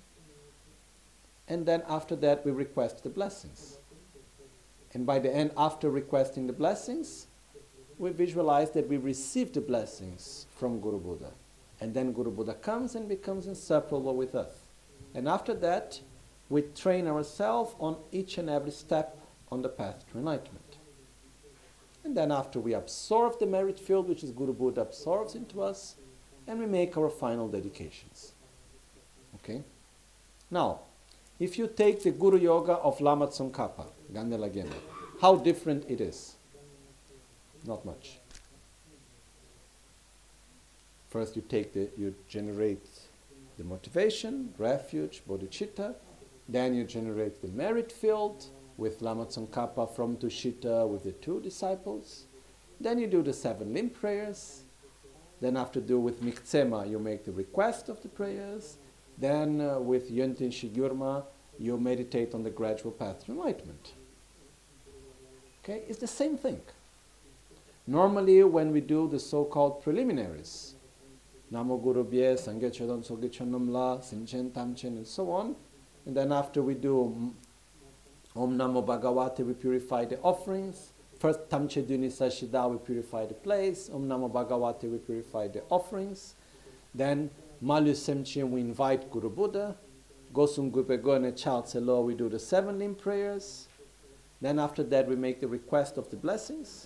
and then after that we request the blessings. And by the end, after requesting the blessings, we visualize that we receive the blessings from Guru Buddha. And then Guru Buddha comes and becomes inseparable with us. And after that, we train ourselves on each and every step on the path to enlightenment. And then after we absorb the merit field, which is Guru Buddha absorbs into us, and we make our final dedications. Okay? Now, if you take the Guru Yoga of Lama Tsongkhapa, Ganden Lagena, how different it is. Not much. First you generate the motivation, refuge, bodhicitta. Then you generate the merit field with Lama Tsongkhapa from Tushita with the 2 disciples. Then you do the 7 limb prayers. Then after do with Miktsema, you make the request of the prayers. Then with Yönten Shigyurma, you meditate on the gradual path to enlightenment. Okay, it's the same thing. Normally, when we do the so-called preliminaries, Namo Guru Bhye, Sangye Chodon Soge Chonamla, Sinchen Tamchen, and so on, and then after we do Om Namo Bhagavate, we purify the offerings. First, Tamche Duni Sashida, we purify the place. Om Namo Bhagavate, we purify the offerings. Then, Malu Semchen, we invite Guru Buddha. Gosum Gupegone Chao Tselo, we do the 7 limb prayers. Then after that, we make the request of the blessings.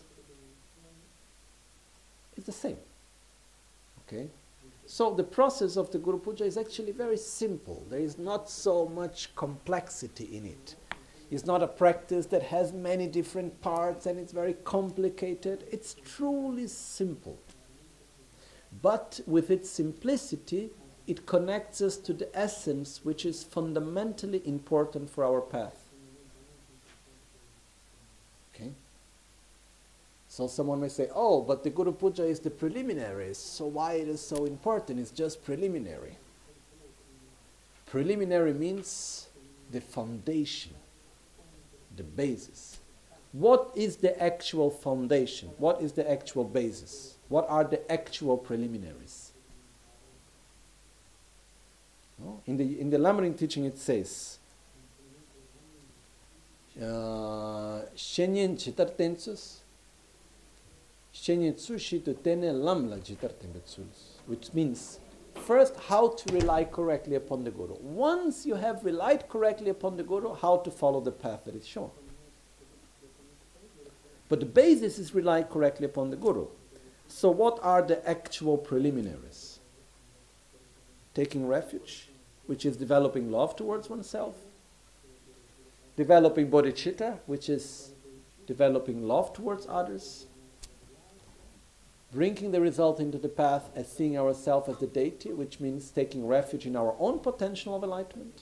It's the same. Okay? So the process of the Guru Puja is actually very simple. There is not so much complexity in it. It's not a practice that has many different parts and it's very complicated. It's truly simple. But with its simplicity, it connects us to the essence which is fundamentally important for our path. Okay? So someone may say, oh, but the Guru Puja is the preliminaries, so why it is so important? It's just preliminary. Preliminary means the foundation, the basis. What is the actual foundation? What is the actual basis? What are the actual preliminaries? No? In the Lamrim teaching it says, Shenyen Chitartensus, which means first how to rely correctly upon the Guru. Once you have relied correctly upon the Guru, how to follow the path that is shown. But the basis is rely correctly upon the Guru. So what are the actual preliminaries? Taking refuge, which is developing love towards oneself. Developing bodhicitta, which is developing love towards others. Bringing the result into the path as seeing ourselves as the deity, which means taking refuge in our own potential of enlightenment.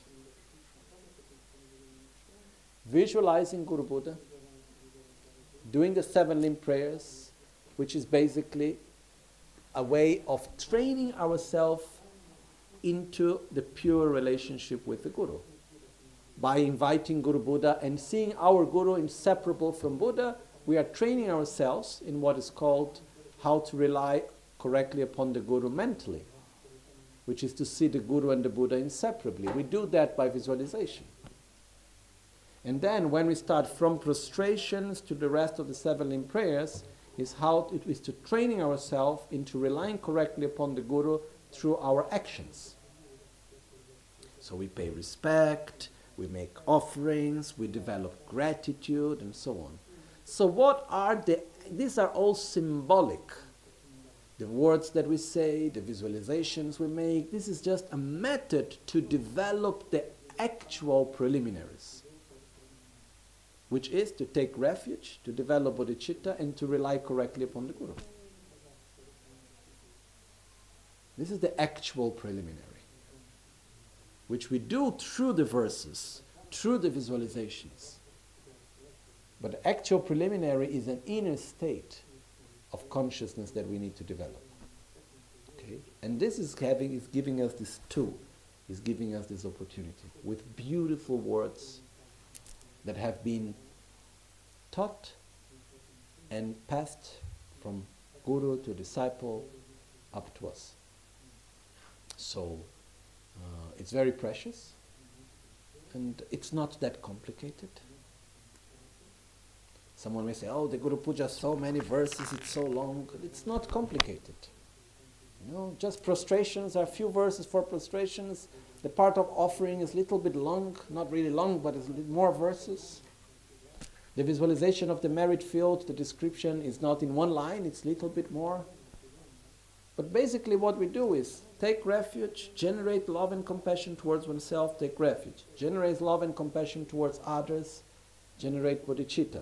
Visualizing Guru Buddha. Doing the 7 limb prayers, which is basically a way of training ourselves into the pure relationship with the Guru. By inviting Guru Buddha and seeing our Guru inseparable from Buddha, we are training ourselves in what is called how to rely correctly upon the Guru mentally, which is to see the Guru and the Buddha inseparably. We do that by visualization. And then when we start from prostrations to the rest of the 7 limb prayers, is how it is to training ourselves into relying correctly upon the Guru through our actions. So we pay respect, we make offerings, we develop gratitude, and so on. So what are these are all symbolic. The words that we say, the visualizations we make, this is just a method to develop the actual preliminaries, which is to take refuge, to develop bodhicitta, and to rely correctly upon the Guru. This is the actual preliminary, which we do through the verses, through the visualizations. But the actual preliminary is an inner state of consciousness that we need to develop. Okay? And this is giving us this tool, is giving us this opportunity with beautiful words that have been taught and passed from guru to disciple up to us. So it's very precious, and it's not that complicated. Someone may say, oh, the Guru Puja, so many verses, it's so long. It's not complicated. You know, just prostrations, are a few verses for prostrations. The part of offering is a little bit long, not really long, but it's more verses. The visualization of the merit field, the description is not in one line, it's a little bit more. But basically what we do is take refuge, generate love and compassion towards oneself, take refuge. Generate love and compassion towards others, generate bodhicitta.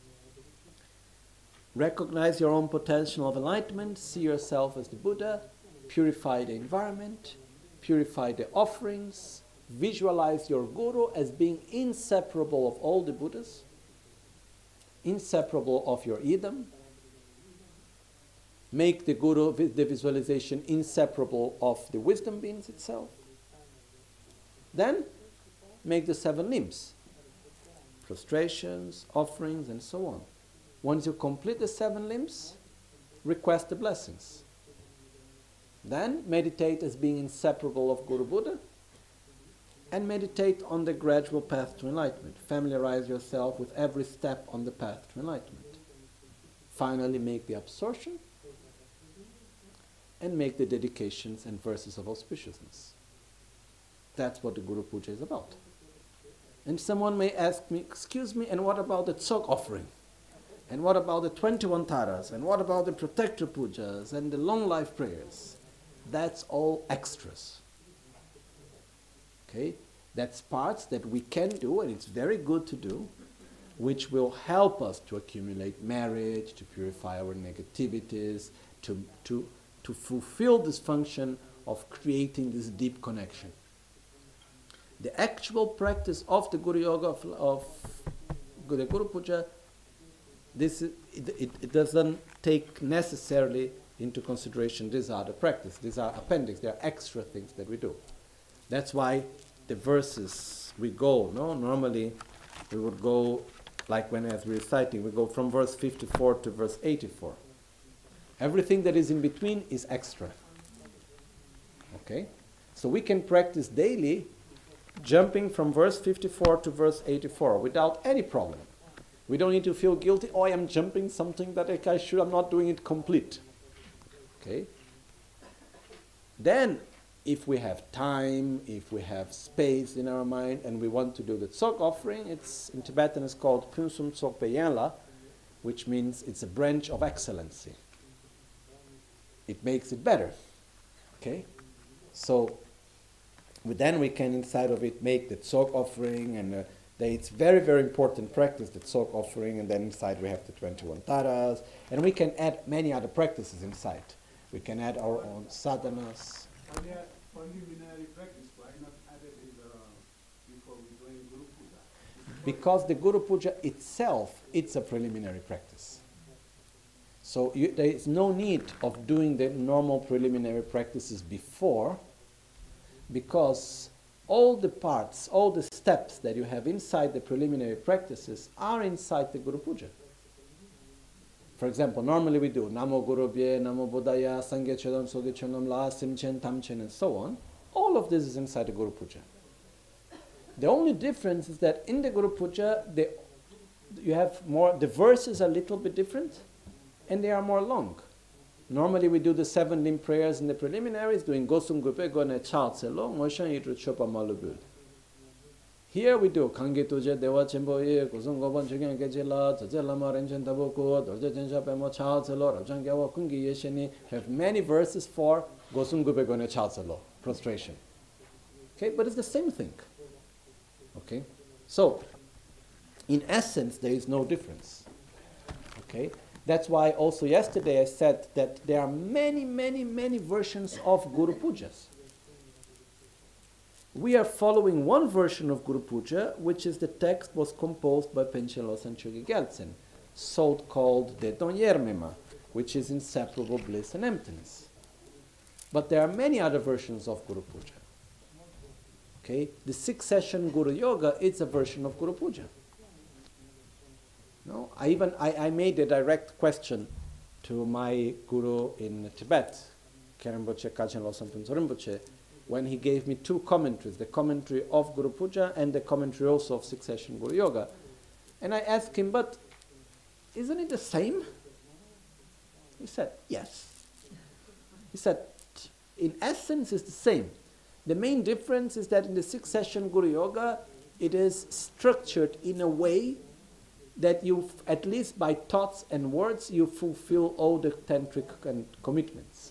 Recognize your own potential of enlightenment, see yourself as the Buddha, purify the environment, purify the offerings, visualize your Guru as being inseparable of all the Buddhas, inseparable of your idam, make the Guru, the visualization, inseparable of the wisdom beings itself. Then make the 7 limbs, prostrations, offerings, and so on. Once you complete the 7 limbs, request the blessings. Then meditate as being inseparable of Guru Buddha, and meditate on the gradual path to enlightenment. Familiarize yourself with every step on the path to enlightenment. Finally, make the absorption, and make the dedications and verses of auspiciousness. That's what the Guru Puja is about. And someone may ask me, excuse me, and what about the Tsok offering? And what about the 21 taras? And what about the protector pujas and the long life prayers? That's all extras. Okay? That's parts that we can do, and it's very good to do, which will help us to accumulate merit, to purify our negativities, to fulfill this function of creating this deep connection. The actual practice of the Guru Yoga, of the Guru Puja, it doesn't take necessarily into consideration these are the practice. These are appendix. They are extra things that we do. That's why the verses we go, normally we would go, like when as we're reciting, we go from verse 54 to verse 84. Everything that is in between is extra. Okay? So we can practice daily jumping from verse 54 to verse 84 without any problem. We don't need to feel guilty, oh, I am jumping something that I'm not doing it complete. Okay? Then, if we have time, if we have space in our mind, and we want to do the Tsok offering, it's in Tibetan it's called Punsum Tsok Peyenla, which means it's a branch of excellency. It makes it better. Okay? So, then we can inside of it make the Tsok offering, and it's very, very important practice, the Tsok offering, and then inside we have the 21 taras, and we can add many other practices inside. We can add our own sadhanas. Are there preliminary practice? Why not add it before we doing Guru Puja? Because the Guru Puja itself, it's a preliminary practice. So there is no need of doing the normal preliminary practices before, because all the parts, all the steps that you have inside the preliminary practices are inside the Guru Puja. For example, normally we do Namo Guru Bhye, Namo Buddhaya, Sangye Chodam, Sogye Chodam, La, Simchen, Tamchen, and so on. All of this is inside the Guru Puja. The only difference is that in the Guru Puja, you have more, the verses are a little bit different, and they are more long. Normally we do the 7 limb prayers in the preliminaries, doing Gosum Gupe Gone Chatselo, Moshan Yitru Chopa Malubul. Here we do Kange Tuje Dewa Chemboye, Gosum Goban Chigan Gejela, Tajelama Renchen Taboko, Dorje Jensha Pemo Chatselo, Rajan Gawa Kungi Yesheni, have many verses for Gosum Gupe Gone Chatselo, prostration. Okay, but it's the same thing. Okay, so in essence there is no difference. Okay, that's why also yesterday I said that there are many versions of Guru Pujas. We are following one version of Guru Puja, which is the text was composed by Panchen Losang Chogi Gyaltsen, so called Deton Yermema, which is inseparable bliss and emptiness. But there are many other versions of Guru Puja. Okay, the 6-session Guru Yoga is a version of Guru Puja. No, I made a direct question to my guru in Tibet, Khenpo Khalchen Losang Phuntsol Rinpoche, when he gave me 2 commentaries, the commentary of Guru Puja and the commentary also of 6-session Guru Yoga. And I asked him, but isn't it the same? He said, yes. He said, in essence it's the same. The main difference is that in the 6-session Guru Yoga, it is structured in a way that you, at least by thoughts and words, you fulfill all the tantric commitments.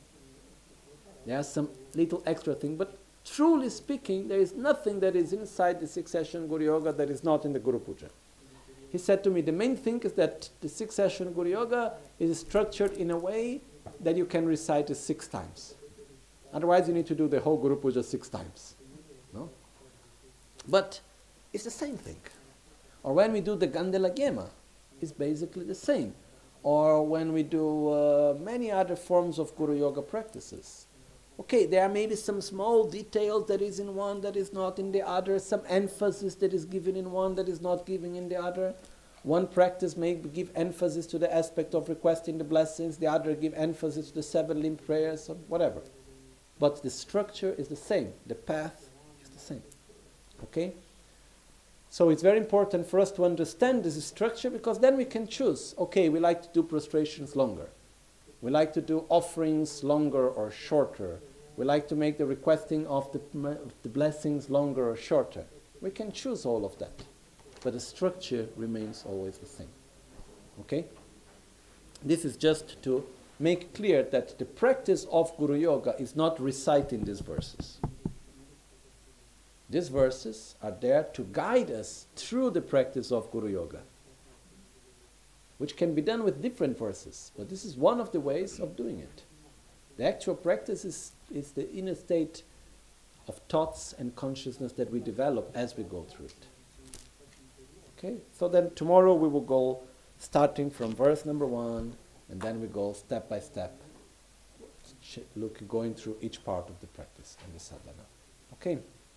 There are some little extra thing, but truly speaking, there is nothing that is inside the 6-session Guru Yoga that is not in the Guru Puja. He said to me, the main thing is that the 6-session Guru Yoga is structured in a way that you can recite it 6 times. Otherwise, you need to do the whole Guru Puja 6 times. No? But it's the same thing. Or when we do the Gandela Gema, it's basically the same. Or when we do many other forms of Guru Yoga practices. Okay, there are maybe some small details that is in one that is not in the other, some emphasis that is given in one that is not given in the other. One practice may give emphasis to the aspect of requesting the blessings, the other give emphasis to the 7 limb prayers, or whatever. But the structure is the same, the path is the same. Okay? So it's very important for us to understand this structure, because then we can choose. Okay, we like to do prostrations longer. We like to do offerings longer or shorter. We like to make the requesting of the blessings longer or shorter. We can choose all of that. But the structure remains always the same. Okay? This is just to make clear that the practice of Guru Yoga is not reciting these verses. These verses are there to guide us through the practice of Guru Yoga, which can be done with different verses, but this is one of the ways of doing it. The actual practice is the inner state of thoughts and consciousness that we develop as we go through it. Okay, so then tomorrow we will go starting from verse number 1, and then we go step by step, going through each part of the practice and the sadhana. Okay.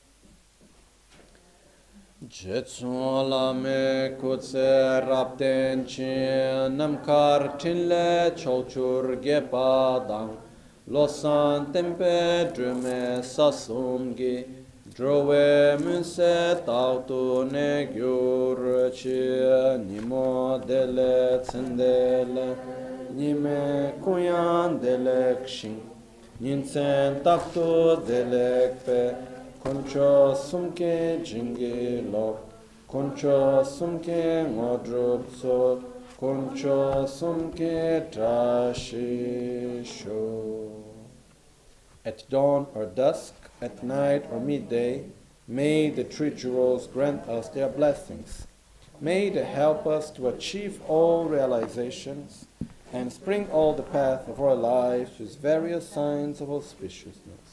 Jetsun lame kutse rapten chi namkar tinle chochur gepadang losan tempe drume sasumgi drove munse tautu ne gyur chi nimo dele tsendele nime kuyan delekshin ninsen taktu delekpe Concho sumke jingi lok, concho sumke ngodrupso, concho sumke trashisho. At dawn or dusk, at night or midday, may the 3 jewels grant us their blessings. May they help us to achieve all realizations and spring all the path of our lives with various signs of auspiciousness.